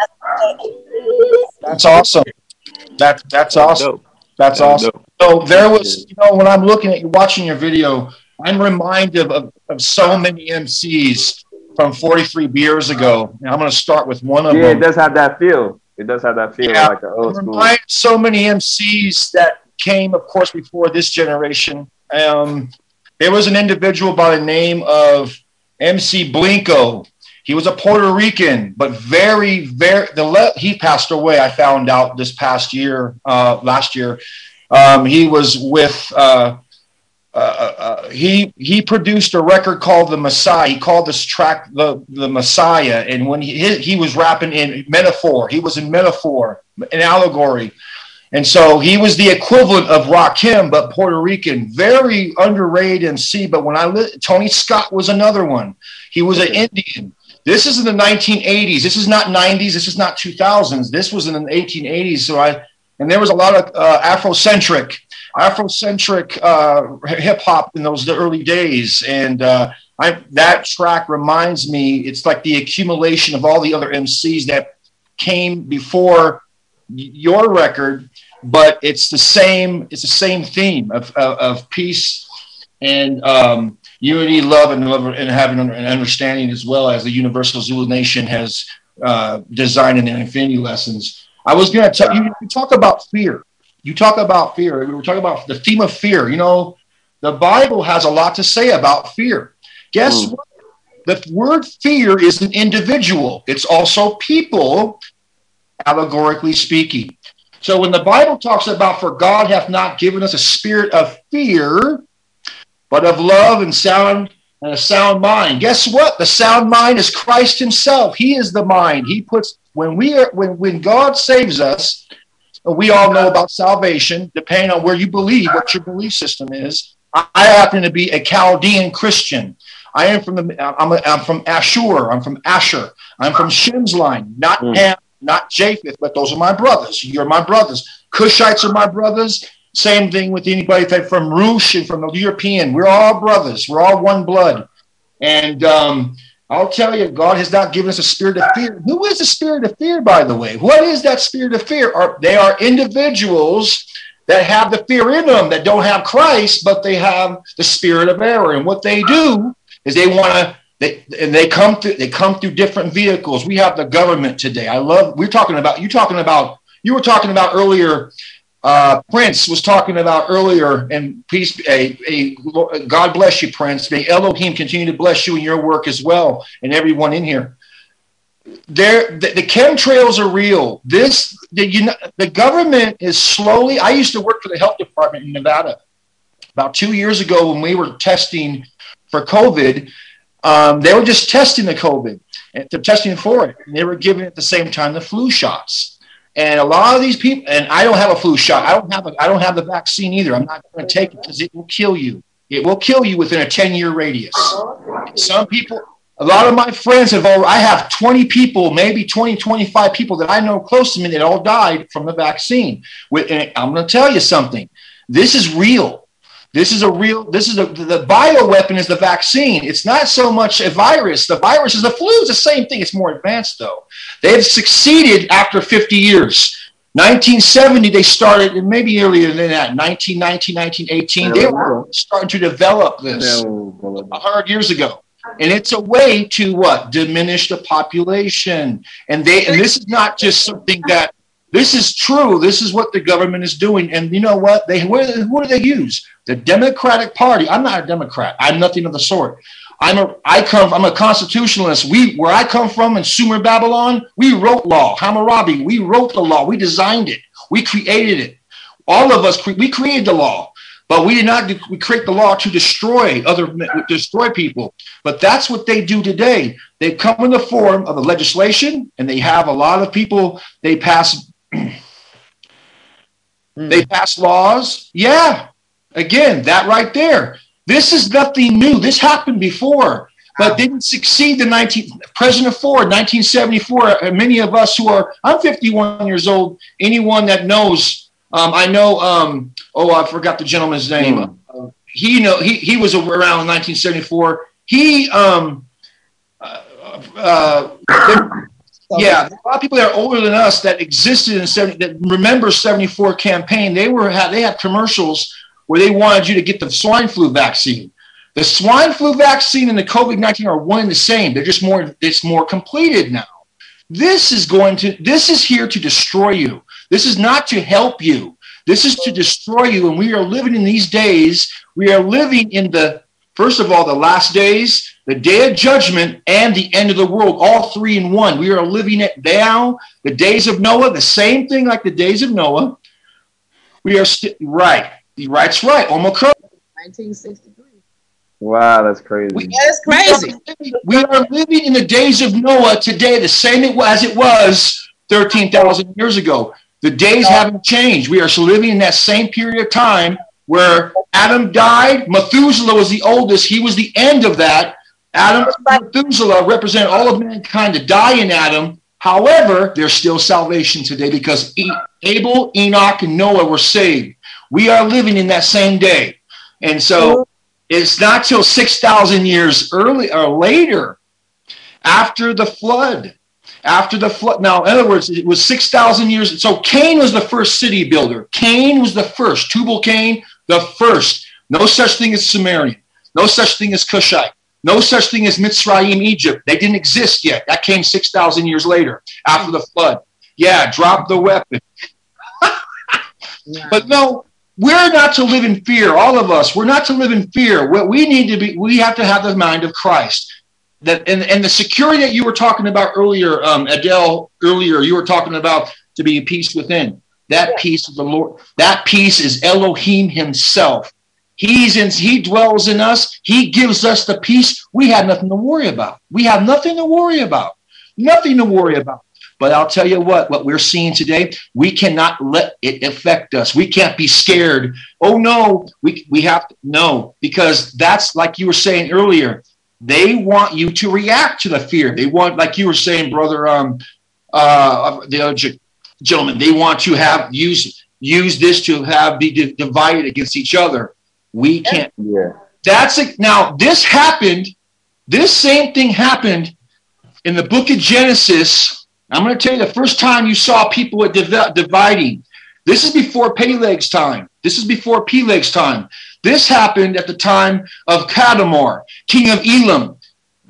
That's awesome. That that's awesome. That's awesome. So there was, you know, when I'm looking at you, watching your video, I'm reminded of, of so many M Cs from forty-three beers ago. And I'm going to start with one of yeah, them. Yeah, it does have that feel. It does have that feel, yeah, like the old school. Remind so many M Cs that came, of course, before this generation. Um, there was an individual by the name of M C Blinko. He was a Puerto Rican, but very, very, the le- he passed away, I found out this past year, uh, last year. Um, he was with, uh, uh, uh, he he produced a record called The Messiah. He called this track The, the Messiah. And when he, he, he was rapping in metaphor, he was in metaphor, in allegory. And so he was the equivalent of Rakim, but Puerto Rican, very underrated M C. But when I, li- Tony Scott was another one. He was an Indian. This is in the nineteen eighties. This is not nineties. This is not two thousands. This was in the eighteen eighties. So I, and there was a lot of uh, Afrocentric, Afrocentric uh, hip hop in those early days. And uh, I, that track reminds me, it's like the accumulation of all the other M Cs that came before your record, but it's the same. It's the same theme of of, of peace and um, unity, love, and love, and having an understanding, as well as the Universal Zulu Nation has uh, designed in their Infinity Lessons. I was going to tell you, you talk about fear. You talk about fear. We were talking about the theme of fear. You know, the Bible has a lot to say about fear. Guess mm. what? The word fear is an individual. It's also people, allegorically speaking. So when the Bible talks about, for God hath not given us a spirit of fear, but of love and sound and a sound mind. Guess what? The sound mind is Christ himself. He is the mind. He puts, when we are, when, when God saves us, we all know about salvation, depending on where you believe, what your belief system is. I, I happen to be a Chaldean Christian. I am from the, I'm, a, I'm from Ashur. I'm from Asher. I'm from Shem's line, not mm. Ham, not Japheth, but those are my brothers. You're my brothers. Cushites are my brothers. Same thing with anybody from Roosh and from the European. We're all brothers. We're all one blood. And um, I'll tell you, God has not given us a spirit of fear. Who is the spirit of fear, by the way? What is that spirit of fear? Are, they are individuals that have the fear in them, that don't have Christ, but they have the spirit of error. And what they do is they want to They and they come through. They come through different vehicles. We have the government today. I love. We're talking about. You talking about. You were talking about earlier. Uh, Prince was talking about earlier, and peace. A, a God bless you, Prince. May Elohim continue to bless you in your work as well, and everyone in here. There, the, the chemtrails are real. This, the, you know, the government is slowly. I used to work for the health department in Nevada about two years ago when we were testing for COVID. Um, they were just testing the COVID and they're testing for it. And they were giving at the same time the flu shots. And a lot of these people, and I don't have a flu shot. I don't have a, I don't have the vaccine either. I'm not going to take it because it will kill you. It will kill you within a ten year radius. Some people, a lot of my friends have all, I have twenty people, maybe twenty, twenty-five people that I know close to me that all died from the vaccine. And I'm going to tell you something. This is real. This is a real, this is a, the bioweapon is the vaccine. It's not so much a virus. The virus is the flu. It's the same thing. It's more advanced though. They've succeeded after fifty years. nineteen seventy, they started, and maybe earlier than that, nineteen nineteen, nineteen eighteen, they were starting to develop this one hundred years ago. And it's a way to what? Diminish the population. And they, and this is not just something that, this is true. This is what the government is doing. And you know what? They, where, who do they use? The Democratic Party. I'm not a Democrat. I'm nothing of the sort. I'm a, I come, I'm a constitutionalist. We, where I come from in Sumer, Babylon, we wrote law. Hammurabi, we wrote the law. We designed it. We created it. All of us, we created the law, but we did not we create the law to destroy other, destroy people. But that's what they do today. They come in the form of the legislation, and they have a lot of people, they pass, they pass laws. Yeah. Again, that right there. This is nothing new. This happened before, but didn't succeed. The nineteen President Ford, nineteen seventy-four. And many of us who are, I'm fifty-one years old. Anyone that knows, um, I know. Um, oh, I forgot the gentleman's name. Mm. Uh, he know he he was around in nineteen seventy-four. He um, uh, uh, yeah, a lot of people that are older than us that existed in seventy that remember seventy-four campaign. They were had they had commercials where they wanted you to get the swine flu vaccine. The swine flu vaccine and the COVID nineteen are one and the same. They're just more, it's more completed now. This is going to, this is here to destroy you. This is not to help you. This is to destroy you. And we are living in these days. We are living in the, first of all, the last days, the day of judgment, and the end of the world, all three in one. We are living it now. The days of Noah, the same thing like the days of Noah. We are still, right. That's right. Omicron. nineteen sixty-three. Wow, that's crazy. We, that's crazy. We are living in the days of Noah today, the same as it was thirteen thousand years ago. The days haven't changed. We are living in that same period of time where Adam died. Methuselah was the oldest. He was the end of that. Adam, Methuselah represent all of mankind to die in Adam. However, there's still salvation today because Abel, Enoch, and Noah were saved. We are living in that same day. And so it's not till six thousand years early or later after the flood. After the flood. Now, in other words, it was six thousand years. So Cain was the first city builder. Cain was the first. Tubal-Cain, the first. No such thing as Sumerian. No such thing as Cushite. No such thing as Mitzrayim, Egypt. They didn't exist yet. That came six thousand years later after the flood. Yeah, drop the weapon. But no, we're not to live in fear. All of us, we're not to live in fear. What we need to be, we have to have the mind of Christ. That and, and the security that you were talking about earlier, um, Adele, earlier, you were talking about to be peace within. That peace of the Lord, that peace is Elohim himself. He's in, he dwells in us. He gives us the peace. We have nothing to worry about. We have nothing to worry about. Nothing to worry about. But I'll tell you what, what we're seeing today, we cannot let it affect us. We can't be scared. Oh, no, we, we have to, no, because that's like you were saying earlier. They want you to react to the fear. They want, like you were saying, brother, um, uh, the other gentleman, they want to have, use, use this to have be di- divided against each other. We can't. Yeah. That's it. Now, this happened, this same thing happened in the book of Genesis. I'm going to tell you the first time you saw people div- dividing. This is before Peleg's time. This is before Peleg's time. This happened at the time of Kadmor, king of Elam.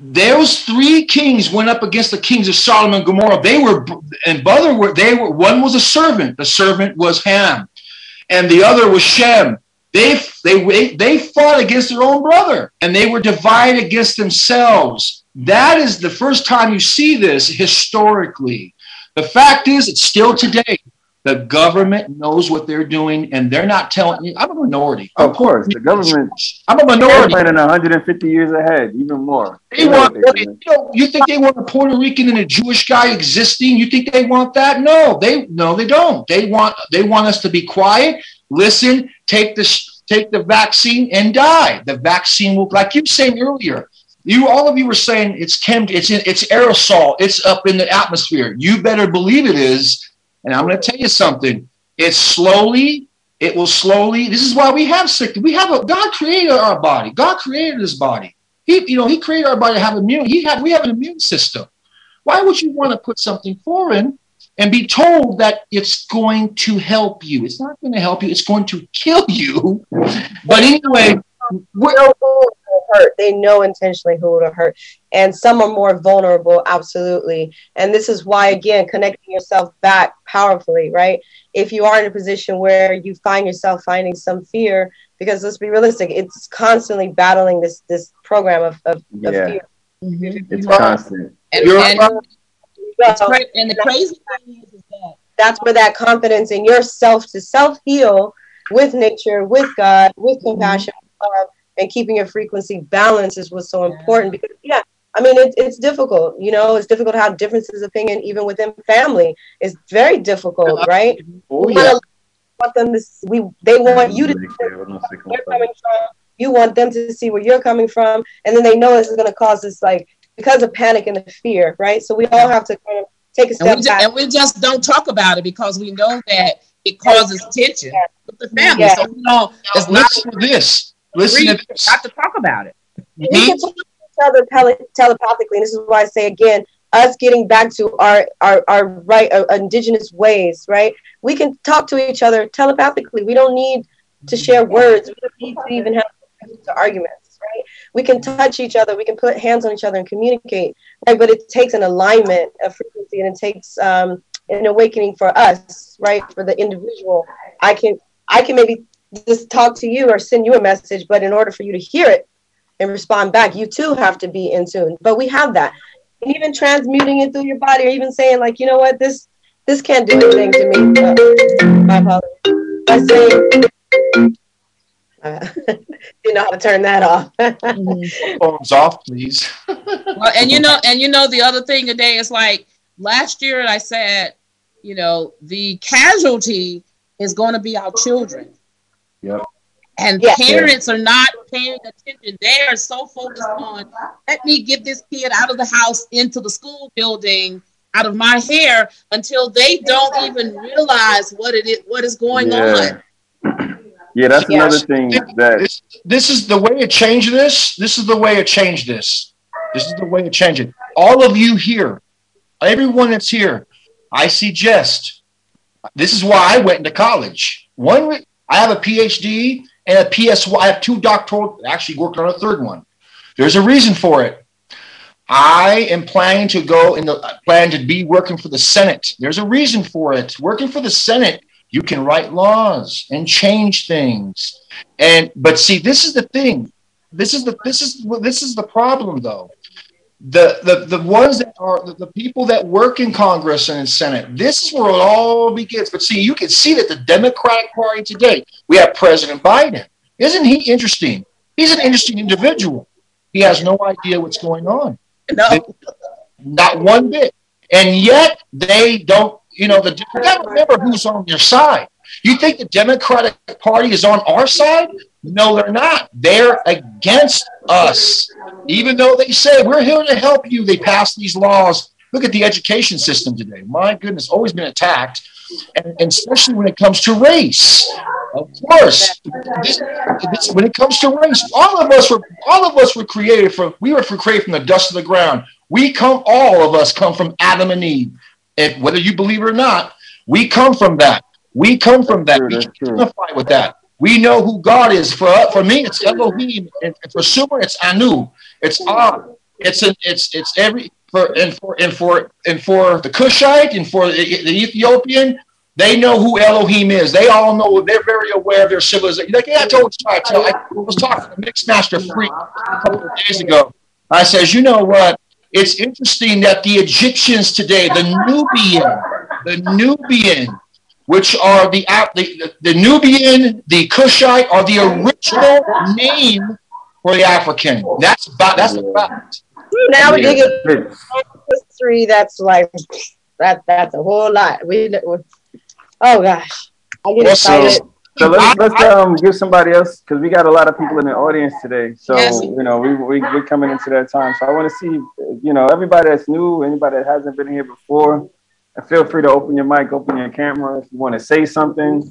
those three kings went up against the kings of Sodom and Gomorrah. They were, and brother, were they were one was a servant. The servant was Ham, and the other was Shem. They they they fought against their own brother, and they were divided against themselves. That is the first time you see this historically. The fact is, it's still today. The government knows what they're doing, and they're not telling you. I'm a minority. Of course, the government. I'm a minority. They're planning one hundred fifty years ahead, even more. They want. You, know, you think they want a Puerto Rican and a Jewish guy existing? You think they want that? No, they no, they don't. They want they want us to be quiet, listen, take the take the vaccine, and die. The vaccine will, like you were saying earlier. You all of you were saying it's chem, it's in, it's aerosol, it's up in the atmosphere. You better believe it is. And I'm going to tell you something. It's slowly, it will slowly. This is why we have sick. We have a God created our body. God created this body. He, you know, He created our body to have immune. He had. We have an immune system. Why would you want to put something foreign and be told that it's going to help you? It's not going to help you. It's going to kill you. But anyway, we're hurt. They know intentionally who to hurt, and some are more vulnerable. Absolutely. And this is why, again, connecting yourself back powerfully, right? If you are in a position where you find yourself finding some fear, because let's be realistic, it's constantly battling this this program of, of, yeah. of fear. Mm-hmm. It's constant. And, and, and, it's cra- and the crazy thing is, is that that's where that confidence in yourself to self heal with nature, with God, with compassion, mm-hmm. and keeping your frequency balanced is what's so important. Because yeah, I mean, it, it's difficult, you know, it's difficult to have differences of opinion, even within family. It's very difficult, right? Oh, we yeah. want them to, we, they want you to see where you're coming from. You want them to see where you're coming from. And then they know this is going to cause this, like, because of panic and the fear, right? So we all have to kind of take a step and we back. Just, and we just don't talk about it because we know that it causes tension yeah. with the family. Yeah. So we know it's now, not listen to this. Listen to this. Have to talk about it. We can talk to each other tele- telepathically, and this is why I say again, us getting back to our our, our right uh, indigenous ways, right? We can talk to each other telepathically. We don't need to share words. We don't need to even have arguments, right? We can touch each other. We can put hands on each other and communicate, right? But it takes an alignment of frequency, and it takes um, an awakening for us, right? For the individual, I can I can maybe just talk to you or send you a message, but in order for you to hear it and respond back, you too have to be in tune. But we have that. And even transmuting it through your body, or even saying like, you know what, this this can't do anything to me. Uh, my apologies. By saying, uh, you know how to turn that off. Phones off, please. Well, and you know, and you know, the other thing today is like last year I said, you know, the casualty is going to be our children. Yep. And yeah. parents are not paying attention. They are so focused on, let me get this kid out of the house into the school building, out of my hair, until they don't even realize what it is, what is going yeah. on. Yeah, that's yeah. another thing that this, this is the way to change this. This is the way to change this. This is the way to change it. All of you here, everyone that's here, I suggest. This is why I went into college. One. I have a P H D and a P S Y. I have two doctoral, actually worked on a third one. There's a reason for it. I am planning to go in the plan to be working for the Senate. There's a reason for it. Working for the Senate, you can write laws and change things. And but see, this is the thing. This is the this is this is the problem though. The, the the ones that are the, the people that work in Congress and in Senate, this is where it all begins. But see, you can see that the Democratic Party today, we have President Biden. Isn't he interesting? He's an interesting individual. He has no idea what's going on. No. They, not one bit. And yet they don't, you know, the you gotta remember who's on your side. You think the Democratic Party is on our side? No, they're not. They're against us. Even though they say, we're here to help you, they pass these laws. Look at the education system today. My goodness, always been attacked. And, and especially when it comes to race. Of course, this, this, when it comes to race, all of us were all of us were created from, we were created from the dust of the ground. We come, all of us come from Adam and Eve. And whether you believe it or not, we come from that. We come from that. We can identify with that. We know who God is. For for me, it's Elohim. And for Sumer, it's Anu. It's Ah. It's a, it's it's every for and for and for and for the Cushite and for the, the Ethiopian, they know who Elohim is. They all know. They're very aware of their civilization. Like yeah, I told you, I, tell, I was talking to Mixmaster Freak a couple of days ago. I says, you know what? It's interesting that the Egyptians today, the Nubian, the Nubian, which are the the, the Nubian, the Cushite, are the original name for the African. That's that's the fact. Now we dig it. History. That's like that. That's a whole lot. We. Oh gosh, I get excited. So let's let's um give somebody else because we got a lot of people in the audience today. So yes. you know we we we're coming into that time. So I want to see you know everybody that's new, anybody that hasn't been here before. Feel free to open your mic, open your camera if you want to say something.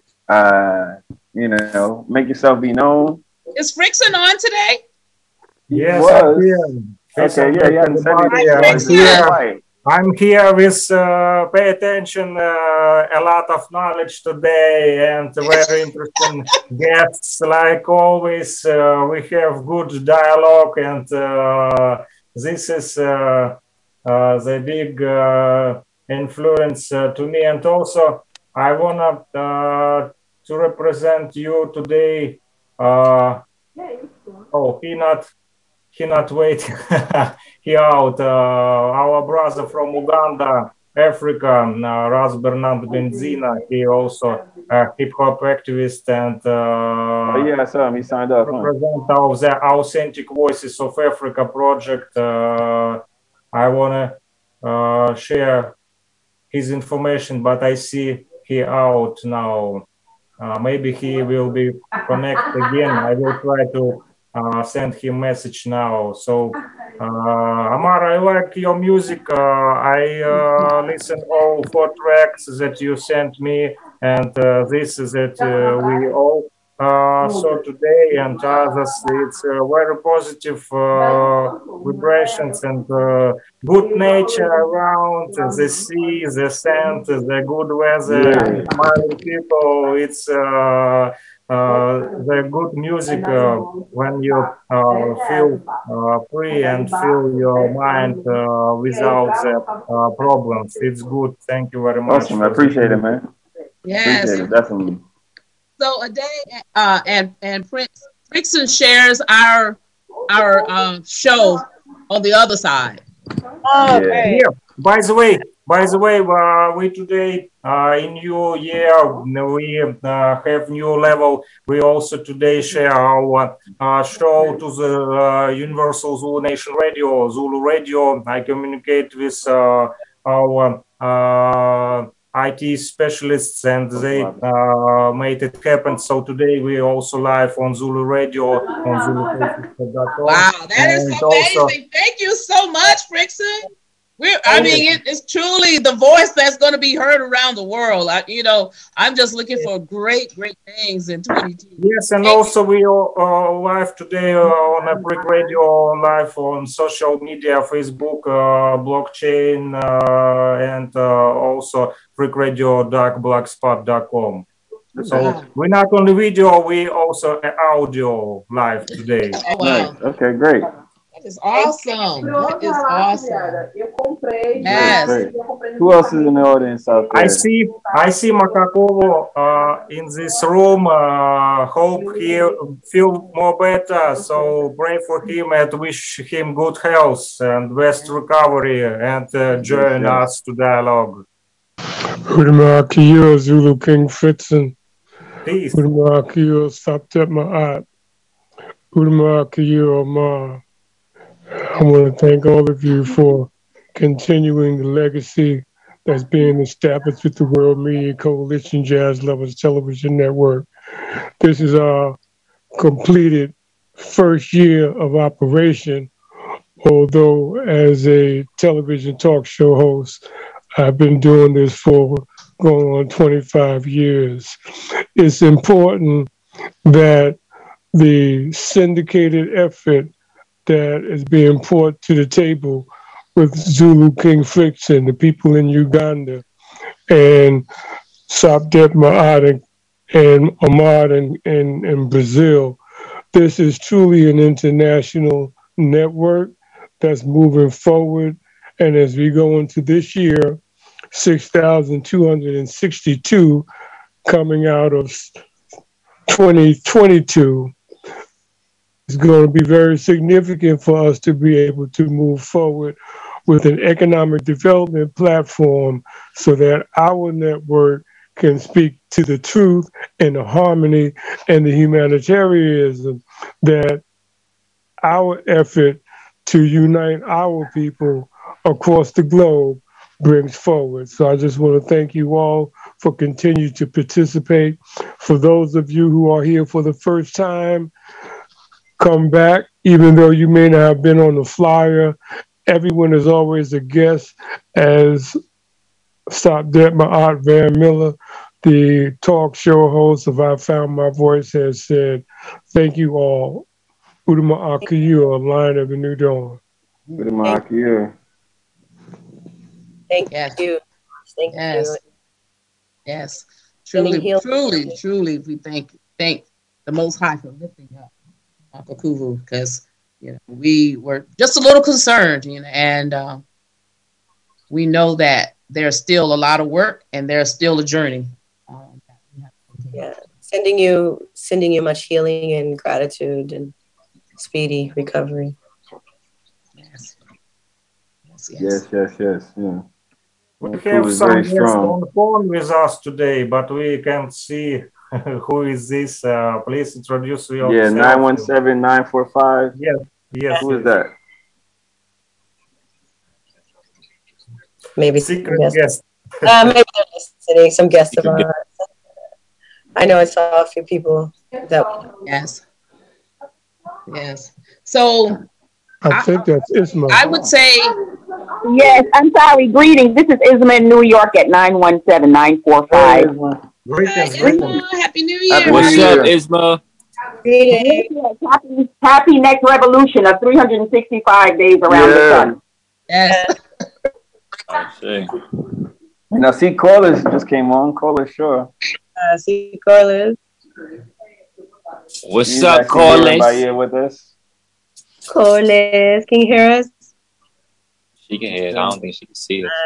Uh, you know, make yourself be known. Is Frickson on today? Yes, I'm here. Okay, yeah, yeah. I'm here. I'm here with uh, pay attention, uh, a lot of knowledge today and very interesting guests. Like always, uh, we have good dialogue, and uh, this is uh, uh, the big uh, influence uh, to me. And also, I wanna uh, to represent you today. Uh, oh, he not. He not waiting. He out. Uh, our brother from Uganda, Africa, uh, Ras Bernard Benzina. He also a hip hop activist and uh, oh, yeah, I saw him. He signed up. Represent huh? of the Authentic Voices of Africa project. Uh, I wanna uh, share his information, but I see he out now. Uh, maybe he will be connect again. I will try to. Uh, send him message now. So, uh, Amar, I like your music. Uh, I uh, listen all four tracks that you sent me, and uh, this is that uh, we all uh, saw today, and others. It's uh, very positive uh, vibrations and uh, good nature around. The sea, the sand, the good weather, yeah. Smiling people. It's. Uh, Uh, the good music uh, when you uh, feel uh, free and feel your mind uh, without the uh, problems. It's good. Thank you very much. Awesome. I appreciate it, man. Yes. Appreciate it, definitely. So a day uh, and and Prince Frickson shares our our uh, show on the other side. Oh, okay. Yeah. By the way, by the way, uh, we today uh, in new year we uh, have new level. We also today share our uh, show to the uh, Universal Zulu Nation Radio, Zulu Radio. I communicate with uh, our uh, I T specialists, and they uh, made it happen. So today we also live on Zulu Radio on Zulu. Wow, that is amazing! Also, thank you so much, Frickson. We're, I mean, it, it's truly the voice that's going to be heard around the world. I, you know, I'm just looking for great, great things in twenty-two. Yes, and also we are uh, live today uh, on a Freak Radio, live on social media, Facebook, uh, blockchain, uh, and uh, also freak radio dot blogspot dot com. So wow. We're not only video, we also audio live today. Oh, wow. Okay, great. That is awesome. That is awesome. Yes. Who else is in the audience out there? I see I see Makakovo uh, in this room. Uh, hope he feel more better. So pray for him and wish him good health and best recovery, and uh, join us to dialogue. Udama Kiyo Zulu King Frickson. Peace. Udama Kiyo Saptet Ma'at. Udama Kiyo Ma. I want to thank all of you for continuing the legacy that's being established with the World Media Coalition Jazz Lovers Television Network. This is our completed first year of operation, although as a television talk show host, I've been doing this for going on twenty-five years. It's important that the syndicated effort that is being brought to the table with Zulu King Frickson, the people in Uganda, and Sapdet Ma'at and, and Ahmad in, in, in Brazil. This is truly an international network that's moving forward. And as we go into this year, six thousand two hundred sixty-two coming out of twenty twenty-two, is going to be very significant for us to be able to move forward with an economic development platform so that our network can speak to the truth and the harmony and the humanitarianism that our effort to unite our people across the globe brings forward. So I just want to thank you all for continuing to participate. For those of you who are here for the first time, come back, even though you may not have been on the flyer. Everyone is always a guest, as Sapdet Ma'at Van Miller, the talk show host of I Found My Voice, has said. Thank you all. Udama Akiyu, a line of the New Dawn. Udama Akiyu. Thank Yes. you. Thank Yes. you. Yes. Sending Truly, healing. truly, truly, we thank thank the Most High for lifting up Uncle Kuvu, because you know we were just a little concerned, you know, and um, we know that there's still a lot of work and there's still a journey. Um, Yeah. Sending you sending you much healing and gratitude and speedy recovery. Yes. Yes, yes. Yes, yes, yes. Yeah. We Well, have Kuvu is some very guests strong. on the phone with us today, but we can't see who is this. Uh, please introduce yourself. Yeah, nine one seven, nine four five. Yes, yes. Who is yes. that? Maybe Secret some guests. guest. Uh, maybe they're listening. Some guests of ours. I know I saw a few people that. Yes. Yes. So I think that's Isma. I would say, Yes, I'm sorry. Greetings. This is Isma in New York at nine one seven, nine four five. Greetings, Hi, greetings. Isma, Happy New Year. Happy What's New up, Year. Isma? Happy, happy next revolution of three hundred sixty-five days around the Yeah. sun. Yes. Oh, shit. Now, see, callers just came on. Caller, sure. Uh, see, Carlos. What's You up, guys can hear everybody Corliss? here with us? Carlos, can you hear us? She can hear it. I don't think she can see it.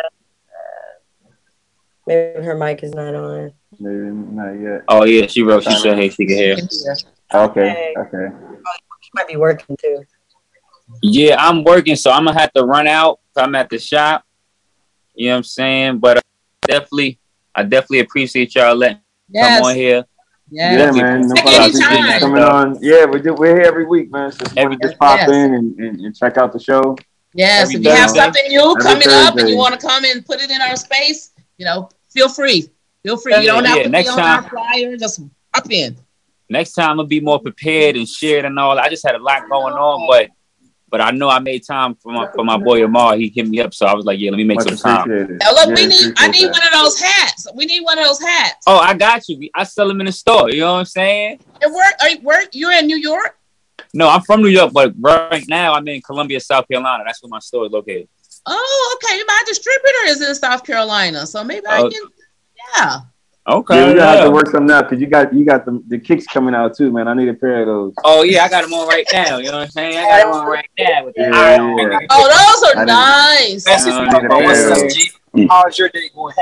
Maybe her mic is not on. Maybe not yet. Oh, yeah, she wrote. She said, hey, she can hear. Okay, okay. She might be working too. Yeah, I'm working, so I'm going to have to run out. I'm at the shop. You know what I'm saying? But uh, definitely, I definitely appreciate y'all letting me Yes. come on here. Yes. Yeah, man. No Take problem. any Appreciate you time. coming on. Yeah, we do, we're here every week, man. So if you want to just pop Yes. in and, and, and check out the show. Yes. Every If you have Thursday. something new Every coming up and Thursday. you want to come and put it in our space, you know, feel free. Feel free. You don't have Yeah, to next be on time- our flyer. Just hop in. Next time I'll be more prepared and shared and all. I just had a lot going on, but but I know I made time for my for my boy Amar. He hit me up, so I was like, yeah, let me make Much some time. appreciated. Now look, Yeah, we need. I appreciate need that. one of those hats. We need one of those hats. Oh, I got you. I sell them in the store. You know what I'm saying? And work. Are you work? You're in New York. No, I'm from New York, but right now I'm in Columbia, South Carolina. That's where my store is located. Oh, okay. My distributor is in South Carolina, so maybe I Oh. can. Yeah. Okay. Yeah, we gotta have yeah. to work something out because you got you got the, the kicks coming out too, man. I need a pair of those. Oh yeah, I got them on right now. You know what I'm saying? I got them on right now with the Yeah, eye on. yeah. Oh, those I are didn't- nice. I don't need a Oh, pair what's of up, those. G? How's your day going?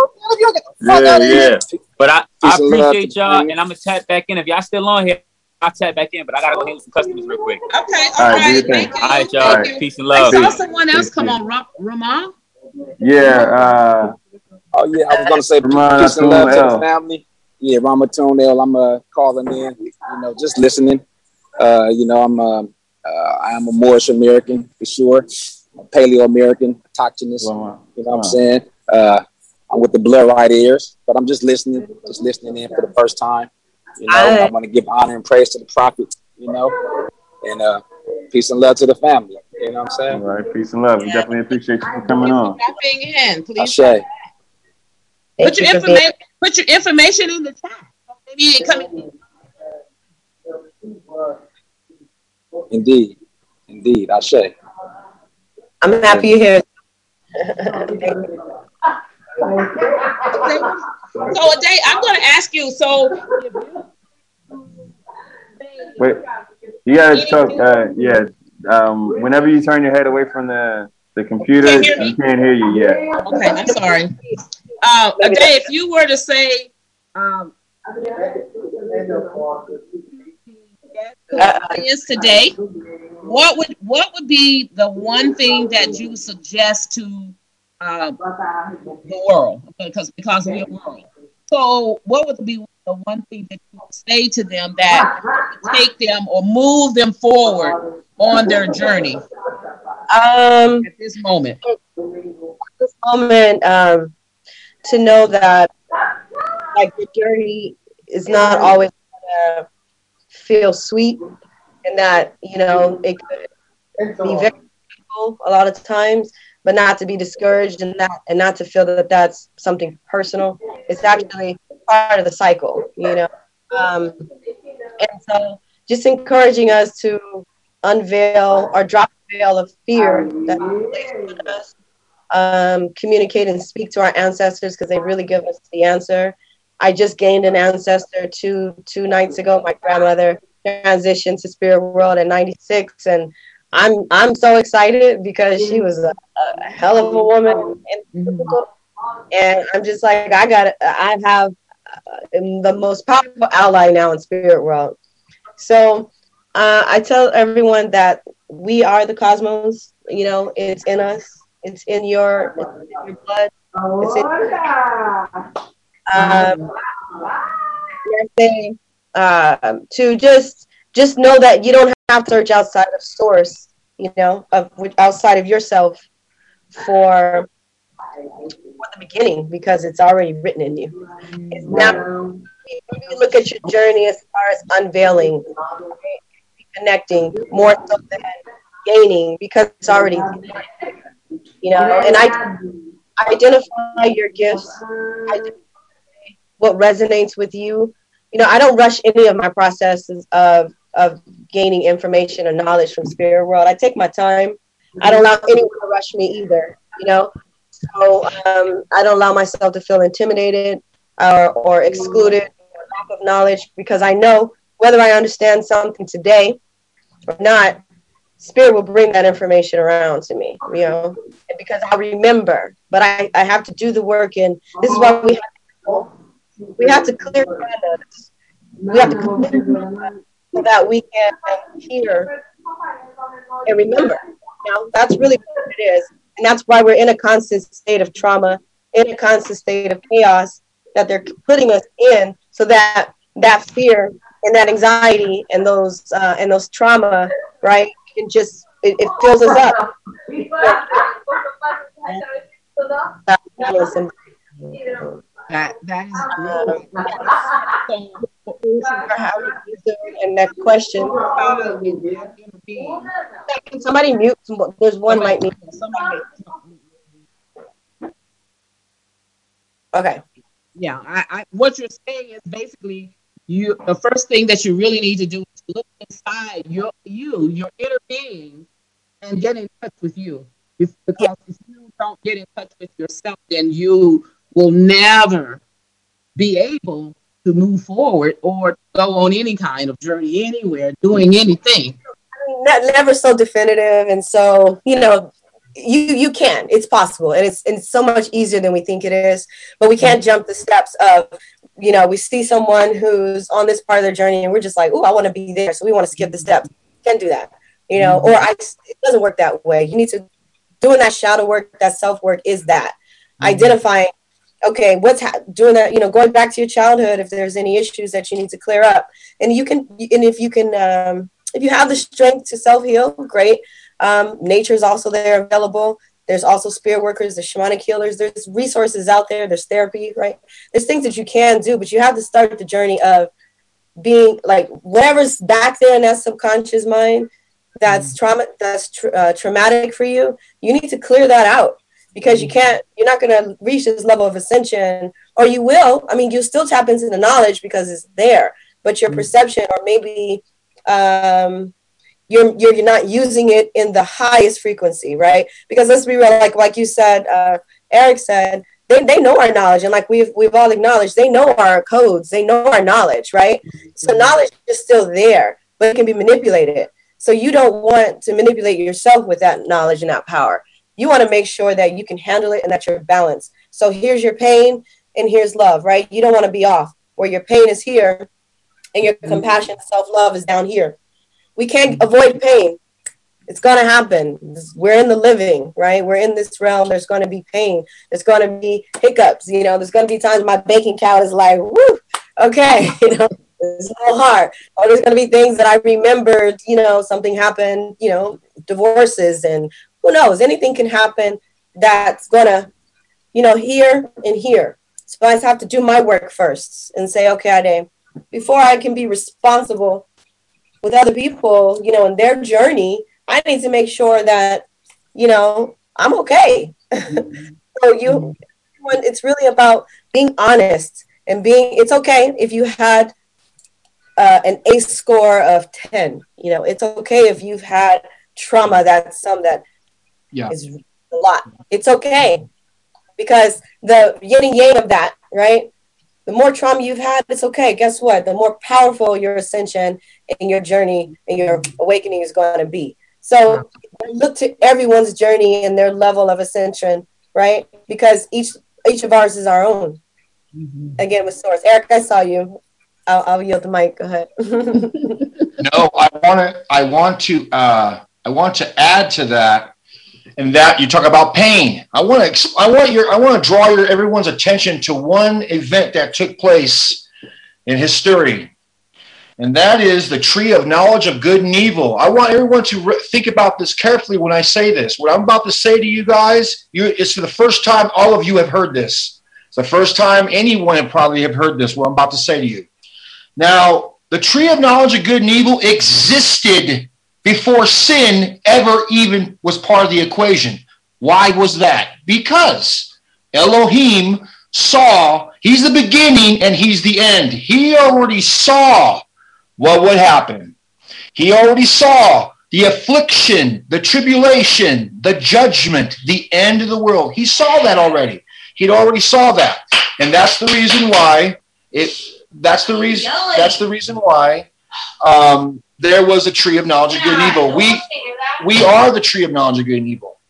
Yeah, yeah. But I, I Peace and love appreciate to y'all, you. and I'm gonna tap back in. If y'all still on here, I'll tap back in. But I gotta go handle some customers real quick. Okay. All All right, do right. your thing. Thank you. All right, y'all. All Thank right. you. Peace and I love. saw Peace. someone else Peace, come peace. on, Ra- Ramon. Yeah, uh, Oh yeah, I was gonna say Ramon peace and love to L. the family. Yeah, Rama Tonel, I'm uh, calling in. You know, just listening. Uh, you know, I'm uh, uh, I am a Moorish American for sure, a Paleo American, autochthonous. Wow. You know what I'm saying? Uh, I'm with the blood right ears, but I'm just listening, just listening in for the first time. You know, I, I- want to give honor and praise to the prophet. You know, and uh, peace and love to the family. You know what I'm All saying? right, peace and love. We definitely appreciate you for coming on. Tapping in, please. Ashe. Put Thank your you for being- information. Put your information in the chat. Maybe you come in. Indeed, indeed, Ashe. I'm happy you're here. Okay. So, Ade, I'm going to ask you. So, Wait, you gotta talk. Uh, yeah, Um, whenever you turn your head away from the the computer, Can't hear me? you can't hear you yet. Okay, I'm sorry. Uh, Ade, if you were to say, um, uh, is today, what would what would be the one thing that you would suggest to uh, the world? Because because we're a world. So, what would be the one thing that you would say to them that would take them or move them forward on their journey? Um, at this moment. At this moment, um, to know that like the journey is not always gonna feel sweet, and that you know it could be very painful a lot of times, but not to be discouraged and not and not to feel that that's something personal. It's actually part of the cycle, you know. Um, and so, just encouraging us to unveil or drop the veil of fear that is placed on us. Um, communicate and speak to our ancestors because they really give us the answer. I just gained an ancestor two two nights ago. My grandmother transitioned to spirit world at ninety-six, and I'm I'm so excited because she was a, a hell of a woman, and, and I'm just like I got I have uh, the most powerful ally now in spirit world. So uh, I tell everyone that we are the cosmos. You know, it's in us. It's in your, it's in your blood. It's in um, saying, um, to just just know that you don't have to search outside of source, you know, of outside of yourself for for the beginning, because it's already written in you. It's now you look at your journey as far as unveiling, connecting more so than gaining, because it's already there. You know, and I identify your gifts, identify what resonates with you. You know, I don't rush any of my processes of of gaining information or knowledge from spirit world. I take my time. I don't allow anyone to rush me either. You know, so um, I don't allow myself to feel intimidated or, or excluded or lack of knowledge, because I know whether I understand something today or not, spirit will bring that information around to me, you know, and because I remember, but I, I have to do the work. And this is why we have to, we have to clear us. We have to clear us so that we can hear and remember. You know, that's really what it is. And that's why we're in a constant state of trauma, in a constant state of chaos that they're putting us in, so that that fear and that anxiety and those uh, and those trauma, right? It just it, it fills us up. That that is and that question. Can somebody mute? There's one might need. Okay. Yeah, I, I what you're saying is basically you. The first thing that you really need to do is look inside your you, your inner being, and get in touch with you. If, because if you don't get in touch with yourself, then you will never be able to move forward or go on any kind of journey anywhere, doing anything. Not never so definitive, and so you know, you you can. It's possible, and it's and it's so much easier than we think it is. But we can't jump the steps of, you know, we see someone who's on this part of their journey, and we're just like, oh, I want to be there, so we want to skip the steps. Can't do that, you know. Or I, it doesn't work that way. You need to doing that shadow work, that self work is that mm-hmm. identifying. Okay, what's ha- doing that? You know, going back to your childhood, if there's any issues that you need to clear up, and you can, and if you can, um, if you have the strength to self heal, great. Um, nature is also there available. There's also spirit workers, there's shamanic healers. There's resources out there. There's therapy, right? There's things that you can do, but you have to start the journey of being like whatever's back there in that subconscious mind that's trauma, that's tra- uh, traumatic for you. You need to clear that out. Because you can't, you're not going to reach this level of ascension, or you will. I mean, you still tap into the knowledge because it's there, but your perception, or maybe um, you're, you're you're not using it in the highest frequency, right? Because let's be real, like like you said, uh, Eric said, they they know our knowledge, and like we've we've all acknowledged, they know our codes, they know our knowledge, right? So knowledge is still there, but it can be manipulated. So you don't want to manipulate yourself with that knowledge and that power. You want to make sure that you can handle it and that you're balanced. So here's your pain and here's love, right? You don't want to be off where your pain is here and your compassion, self-love is down here. We can't avoid pain. It's going to happen. We're in the living, right? We're in this realm. There's going to be pain. There's going to be hiccups. You know, there's going to be times my bank account is like, woo, okay, you know, it's a little hard. Or there's going to be things that I remembered, you know, something happened, you know, divorces and who knows, anything can happen that's going to, you know, here and here. So I just have to do my work first and say, okay, Ade, before I can be responsible with other people, you know, in their journey, I need to make sure that, you know, I'm okay. So you, it's really about being honest and being, it's okay if you had uh, an ACE score of ten, you know, it's okay if you've had trauma that's some that yeah. is a lot. It's okay because the yin and yang of that, right? The more trauma you've had, it's okay. Guess what? The more powerful your ascension and your journey and your awakening is going to be. So look to everyone's journey and their level of ascension, right? Because each each of ours is our own. Mm-hmm. Again, with source. Eric, I saw you. I'll, I'll yield the mic. Go ahead. No, I want to. I want to. Uh, I want to add to that. And that you talk about pain. I want to. I want your. I want to draw your everyone's attention to one event that took place in history. And that is the tree of knowledge of good and evil. I want everyone to re- think about this carefully when I say this. What I'm about to say to you guys, you, it's for the first time all of you have heard this. It's the first time anyone have probably have heard this, what I'm about to say to you. Now, the tree of knowledge of good and evil existed before sin ever even was part of the equation. Why was that? Because Elohim saw, he's the beginning and he's the end. He already saw what would happen. He already saw the affliction, the tribulation, the judgment, the end of the world. He saw that already. He'd already saw that. And that's the reason why it that's the reason that's the reason why um, there was a tree of knowledge of good and evil. We we are the tree of knowledge of good and evil.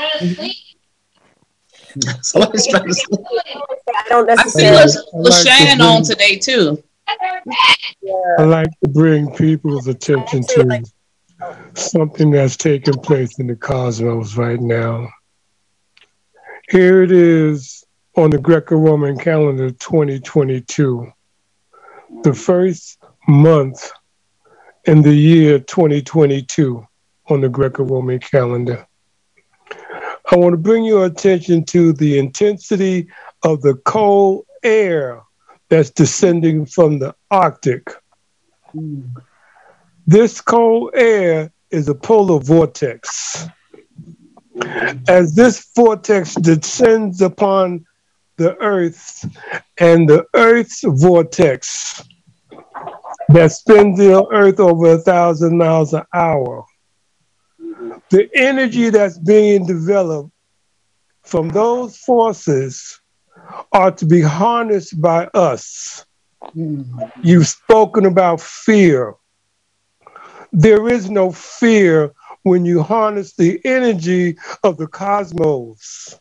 Somebody's trying to sleep. I don't necessarily. I see LaShawn on today too. I like to bring people's attention to something that's taking place in the cosmos right now. Here it is on the Greco-Roman calendar twenty twenty-two, the first month in the year twenty twenty-two on the Greco-Roman calendar. I want to bring your attention to the intensity of the cold air that's descending from the Arctic. Mm. This cold air is a polar vortex. As this vortex descends upon the Earth and the Earth's vortex that spins the Earth over a thousand miles an hour, the energy that's being developed from those forces are to be harnessed by us. Mm. You've spoken about fear. There is no fear when you harness the energy of the cosmos.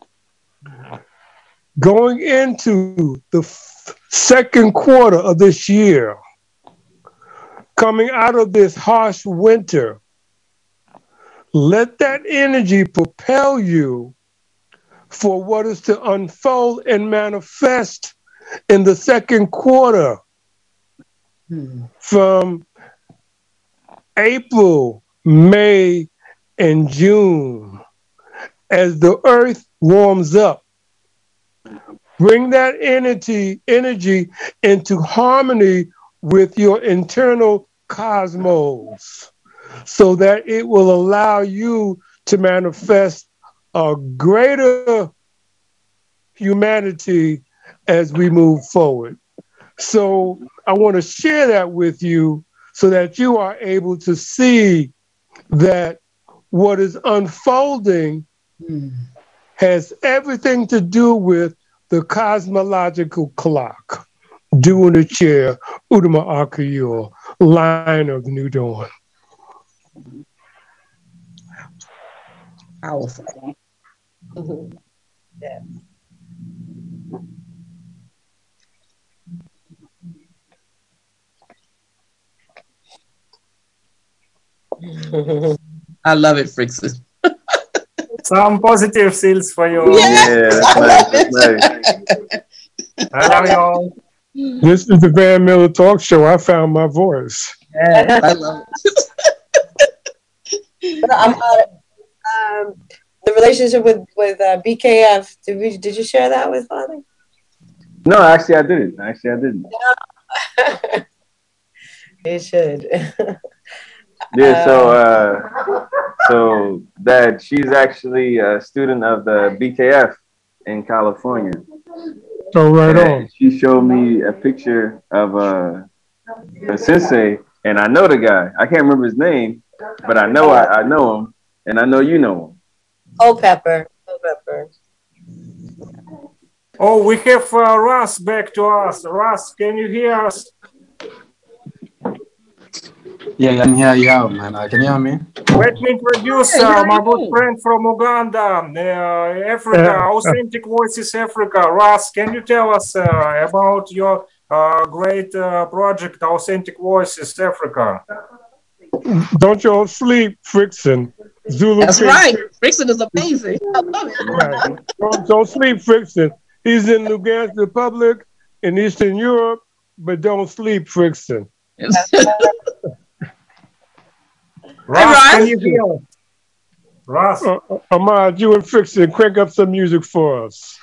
Going into the f- second quarter of this year, coming out of this harsh winter, let that energy propel you for what is to unfold and manifest in the second quarter. Hmm. From April, May, and June, as the earth warms up. Bring that energy, energy into harmony with your internal cosmos so that it will allow you to manifest a greater humanity as we move forward. So I want to share that with you so that you are able to see that what is unfolding mm. has everything to do with the cosmological clock. Doing the chair, Udama Akayor, Lion of the New Dawn. Powerful. Mm-hmm. Yeah. I love it, Frickson. Some positive seals for you. Yeah, Yeah, that's nice. That's nice. I love you all. This is the Van Miller Talk Show. I found my voice. Yeah, I love it. But I'm, uh, um, the relationship with with uh, B K F. Did we? Did you share that with Father? No, actually, I didn't. Actually, I didn't. You should. Yeah. So, uh, so that she's actually a student of the B K F in California. Oh, right and on. She showed me a picture of uh, a sensei, and I know the guy. I can't remember his name, but I know I, I know him, and I know you know him. Oh, Pepper. Oh, Pepper. Oh, we have uh, Russ back to us. Russ, can you hear us? Yeah, I can hear you out, man. Uh, can you hear me? Let me introduce uh, my good friend from Uganda, uh, Africa, Authentic Voices Africa. Russ, can you tell us uh, about your uh, great uh, project, Authentic Voices Africa? Don't you all sleep, Frickson. Zulu That's King. right. Frickson is amazing. I love it. Right. Don't, don't sleep, Frickson. He's in Lugansk Republic in Eastern Europe, but don't sleep, Frickson. Russ, can you hear us? Russ. Uh, Ahmad, you and Frickson, crank up some music for us.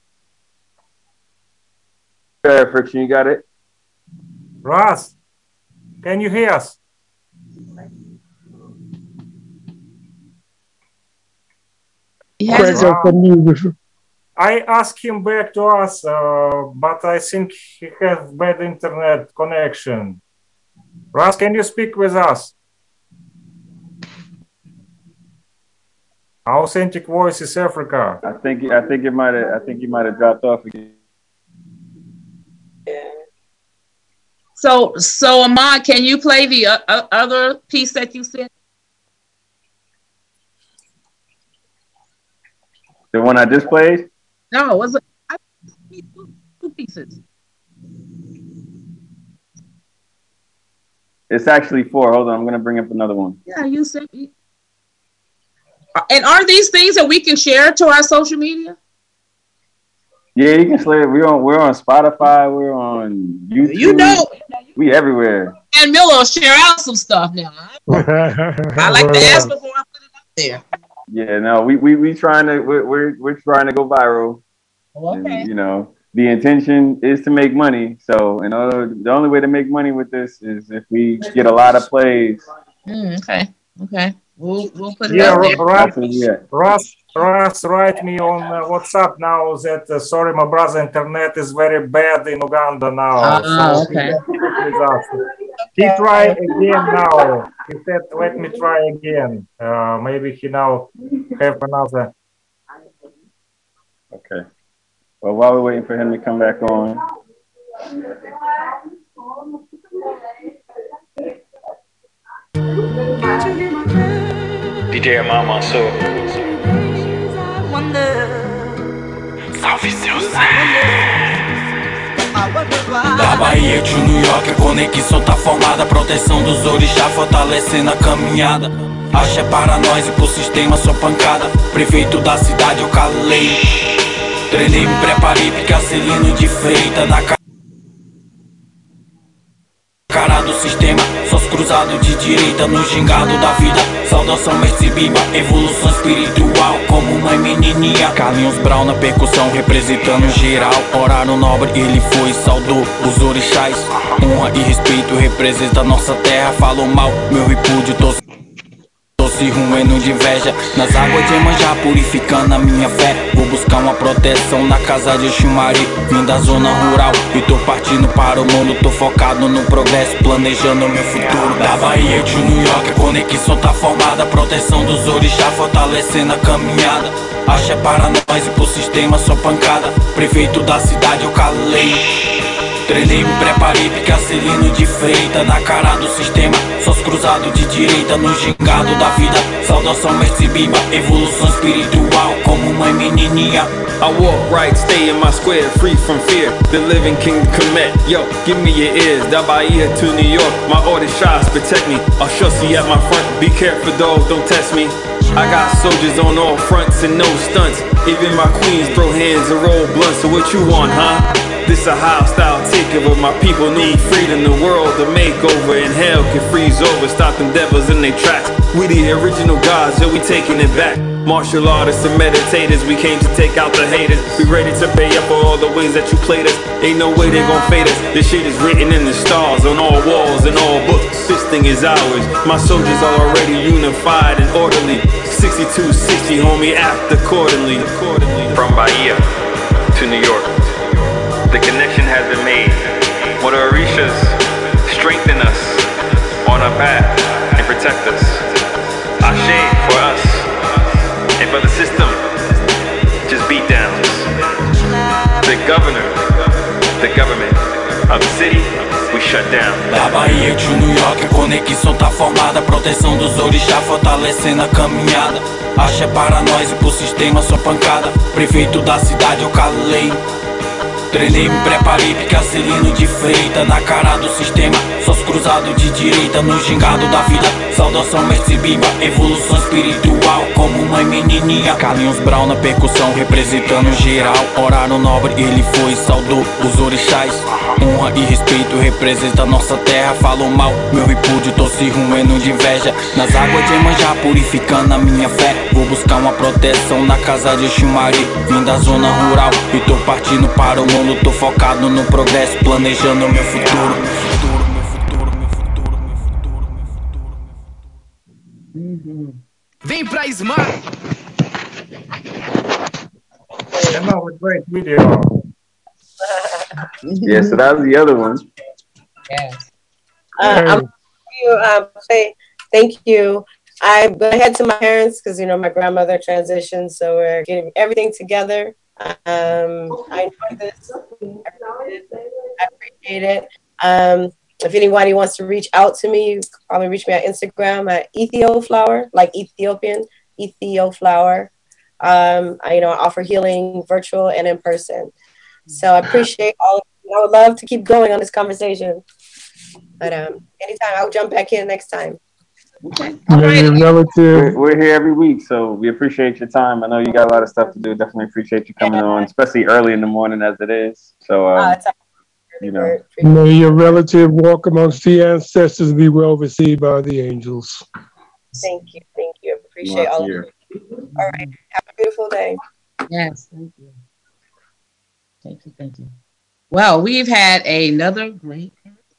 Yeah, Frickson, you got it? Russ, can you hear us? Crank up some music. I asked him back to us, uh, but I think he has bad internet connection. Russ, can you speak with us? Authentic Voices Africa. I think I think it might have I think you might have dropped off again. So, so Ahmad, can you play the uh, uh, other piece that you said? The one I just played? No, it was it? I two, two pieces. It's actually four. Hold on, I'm gonna bring up another one. Yeah, you sent me. And are these things that we can share to our social media? Yeah, you can slay it. We're on we're on Spotify, we're on YouTube. You know, we everywhere. and Miller will share out some stuff now. I like to ask before I put it up there. Yeah, no, we we we trying to we're we're, we're trying to go viral. Okay. And, you know, the intention is to make money. So, in order, the only way to make money with this is if we get a lot of plays. Mm, okay. Okay. We'll we'll put it Yeah, up there. Russ, Yeah. Russ, Russ, write me on uh, WhatsApp now that uh, sorry, my brother, internet is very bad in Uganda now. Ah, so okay. he, with us. He try again now. He said, "Let me try again." Uh, maybe he now have another. Okay. Well, while we're waiting for him to come back on. D J Amar Mansour. Salve seu Zé. Da Bahia de New York, a conexão tá formada. Proteção dos orixá, fortalecendo a caminhada. Axé para nós e pro sistema só pancada. Prefeito da cidade eu calei. Treinei, me preparei, pica Celino de Freita na cara. Cara do sistema, sós cruzado de direita no gingado da vida. Saudação Mestre Bimba, evolução espiritual como mãe menininha. Carlinhos Brown na percussão representando geral. Horário nobre, ele foi e saudou os orixás. Honra e respeito representa nossa terra. Falou mal, meu repúdio, tô se ruendo de inveja. Nas águas de Iemanjá purificando a minha fé. Vou buscar uma proteção na casa de Xumari. Vim da zona rural e tô partindo para o mundo. Tô focado no progresso, planejando meu futuro. Da Bahia de New York, a conexão tá formada. Proteção dos orixá, fortalecendo a caminhada. Axé para nós e pro sistema só pancada. Prefeito da cidade eu calei. Treinei, me preparei, pique Celino de Freita. Na cara do sistema, sós cruzado de direita. No gingado da vida, saudação mestre Bimba. Evolução espiritual, como mãe menininha. I walk right, stay in my square, free from fear. The living king commit. Yo, give me your ears. Da Bahia to New York, my order shots protect me. I'll see at my front. Be careful, dog, don't test me. I got soldiers on all fronts and no stunts. Even my queens throw hands and roll blunts. So what you want, huh? This a hostile takeover. My people need freedom, the world to make over. And hell can freeze over, stop them devils in their tracks. We the original gods, so we taking it back. Martial artists and meditators, we came to take out the haters. We ready to pay up for all the ways that you played us. Ain't no way they gon' fade us. This shit is written in the stars, on all walls and all books. This thing is ours. My soldiers are already unified and orderly. sixty-two sixty, homie, act accordingly. From Bahia to New York, the connection has been made. What are Orishas strengthen us on our path and protect us. Ashe for us. And for the system, just beat downs. The governor, the government of the city, we shut down. Da Bahia de New York, a conexão tá formada. Proteção dos orixá, fortalecendo a caminhada. Axé para nós e pro sistema só pancada. Prefeito da cidade eu calei. Treinei, me preparei, pique Celino de Freita. Na cara do sistema, sós cruzado de direita. No gingado da vida, saudação mestre Bimba. Evolução espiritual, como mãe menininha. Carlinhos Brown na percussão, representando geral. Horário nobre, ele foi, saudou os orixás. Honra e respeito, representa nossa terra. Falou mal, meu repúdio, tô se ruendo de inveja. Nas águas de Emanjá, purificando a minha fé. Vou buscar uma proteção na casa de Xumari. Vim da zona rural e tô partindo para o mundo. Tô focado no progresso, planejando o meu futuro. Vem pra Smart. Emma, a great video. Yeah, so that was the other one. Yes. Uh, I'm you um, say thank you. I'm gonna head to my parents because you know my grandmother transitioned, so we're getting everything together. Um, I enjoyed this. I appreciate it. Um, if anybody wants to reach out to me, you can probably reach me on Instagram at Ethioflower, like Ethiopian, Ethioflower. Um, I, you know, I offer healing virtual and in person. So I appreciate all of you. I would love to keep going on this conversation. But um, anytime, I'll jump back in next time. Okay. We're, we're here every week, so we appreciate your time. I know you got a lot of stuff to do. Definitely appreciate you coming on, especially early in the morning as it is. So, um, uh, you know. May your relative walk amongst the ancestors and be well received by the angels. Thank you. Thank you. Appreciate all of you. All right. Have a beautiful day. Yes. Thank you. Thank you. Thank you. Well, we've had another great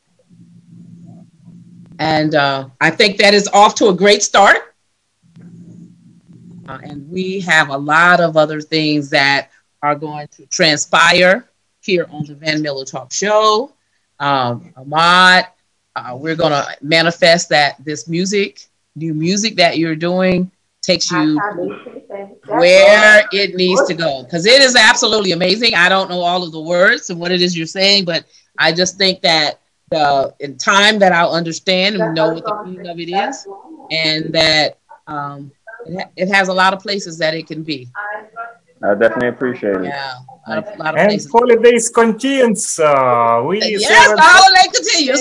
And uh, I think that is off to a great start. Uh, and we have a lot of other things that are going to transpire here on the Van Miller Talk Show. Um, Ahmad, uh, we're going to manifest that this music, new music that you're doing, takes you where it needs to go. Because it is absolutely amazing. I don't know all of the words and what it is you're saying, but I just think that Uh, in time that I'll understand and know what the meaning of it is, and that um, it, ha it has a lot of places that it can be. I definitely appreciate it. Yeah, a lot of, a lot of and places. holidays continues. Uh, we yes, the holiday continues.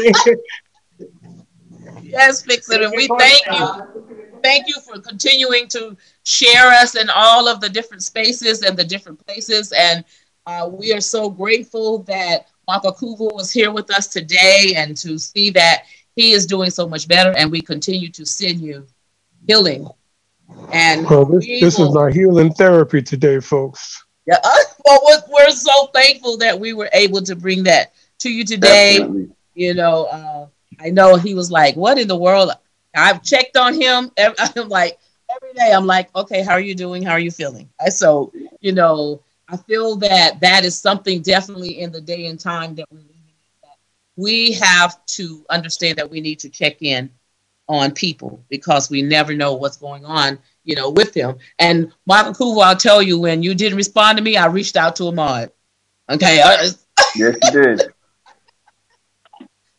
Yes, Fixit, and we thank you. Thank you for continuing to share us in all of the different spaces and the different places, and uh, we are so grateful that Makakuvu was here with us today, and to see that he is doing so much better, and we continue to send you healing. And well, this, we this will, is our healing therapy today, folks. Yeah, uh, well, we're, we're so thankful that we were able to bring that to you today. Definitely. You know, uh, I know he was like, "What in the world?" I've checked on him. I'm like, every day, I'm like, "Okay, how are you doing? How are you feeling?" And so, you know. I feel that that is something definitely in the day and time that we're living in, that we have to understand that we need to check in on people, because we never know what's going on, you know, with them. And Michael Kuva, I'll tell you, when you didn't respond to me, I reached out to Ahmad. Okay. Yes, you did.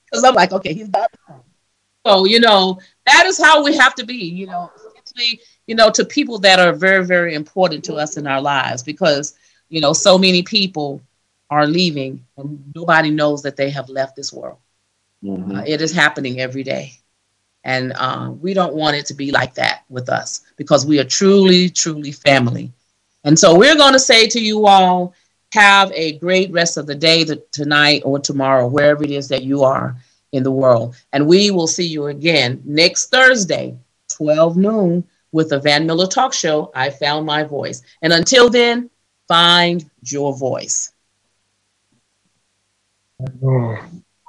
Because I'm like, okay, he's got. So, you know, that is how we have to be, you know, especially, you know, to people that are very, very important to us in our lives, because, you know, so many people are leaving and nobody knows that they have left this world. Mm-hmm. Uh, it is happening every day. And uh, we don't want it to be like that with us, because we are truly, truly family. And so we're going to say to you all, have a great rest of the day, the, tonight or tomorrow, wherever it is that you are in the world. And we will see you again next Thursday, twelve noon, with the Van Miller Talk Show, I Found My Voice. And until then, find your voice. Oh.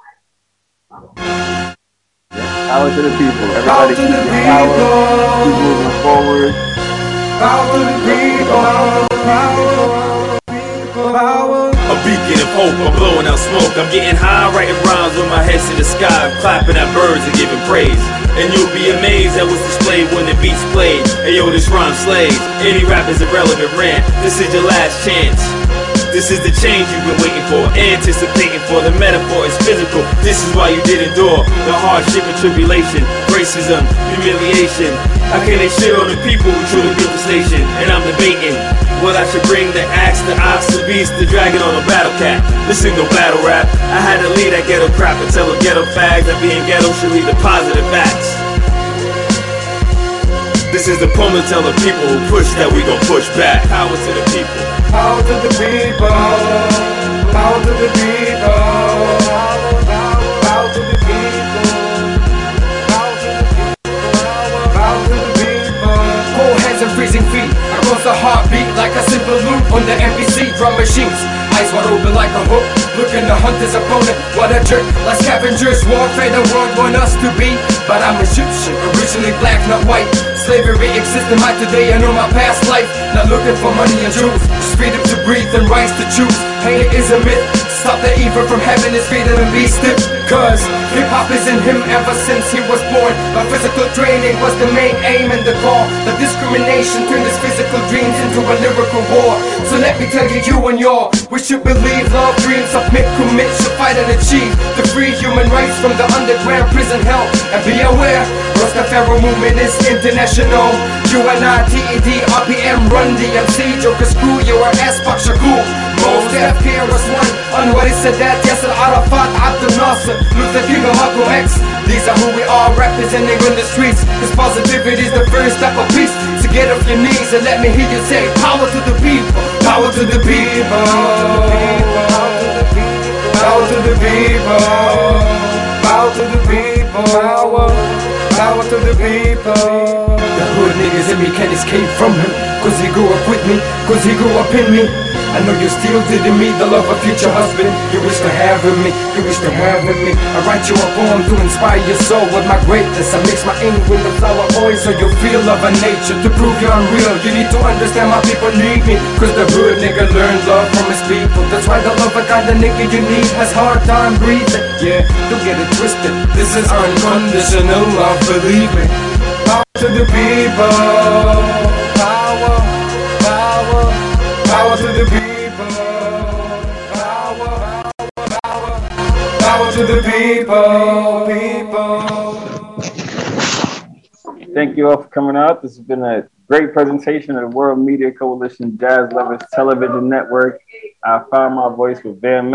Power to the people. Everybody keep the power. Keep moving forward. Power to the people. Power, people, power. A beacon of hope, I'm blowing out smoke. I'm getting high, writing rhymes with my head to the sky. I'm clapping at birds and giving praise. And you'll be amazed at what's displayed when the beat's played. Hey yo, this rhyme slays. Any rap is irrelevant rant. This is your last chance. This is the change you've been waiting for, anticipating for. The metaphor is physical. This is why you did endure the hardship and tribulation, racism, humiliation. How can they shit on the people who truly built the station? And I'm debating what I should bring: the axe, the ox, the beast, the dragon, or the battle cat. This ain't no battle rap. I had to leave that ghetto crap and tell the ghetto fags that being ghetto should lead to positive acts. This is the poem to tell the people who push that we gon' push back. Power to the people. Power to the people. Power to the people. Power to the people. Power to the people. Power to the people. Cold hands and freezing feet. I rose a heartbeat like a simple loop on the N P C drum machines. Eyes wide open like a hook, looking to hunt his opponent. What a jerk, like scavengers, warfare the world want us to be. But I'm Egyptian, originally black, not white. Slavery exists in my today, I know my past life. Not looking for money and jewels, just freedom to breathe and rights to choose. Hate is a myth, stop the evil from having his freedom and be stiff. Cause hip-hop is in him ever since he was born. My physical training was the main aim and the goal. The discrimination turned his physical dreams into a lyrical war. So let me tell you, you and your, we should believe love, dreams, submit, commit, should fight and achieve the free human rights from the underground prison hell. And be aware, Rastafari movement is international. U N I T E D, R P M, Run D M C, Joker Screw, your ass, Fuck Shakur. Most F K R S one, Anwar Sadat, Yasser Arafat, Abdel Nasser, Luther King, Malcolm X. These are who we are, representing on the streets. Cause positivity is the first step of peace. So get off your knees and let me hear you say, power to the people, power to the people, power to the people, power to the people, power, power to the people. The hood niggas in me can't escape from him, cause he grew up with me, cause he grew up in me. I know you still didn't meet the love of future husband. You wish to have with me, you wish to have with me. I write you a poem to inspire your soul with my greatness. I mix my ink with the flower oil so you feel love of nature. To prove you're unreal, you need to understand my people need me. Cause the hood nigga learned love from his people. That's why the love of kind of nigga you need has hard time breathing. Yeah, don't get it twisted, this is unconditional love, believe me. Power to the people, power, power, power to the people, power, power, power to the people, people. Thank you all for coming out. This has been a great presentation of the World Media Coalition Jazz Lovers Television Network. I found my voice with Van Miller.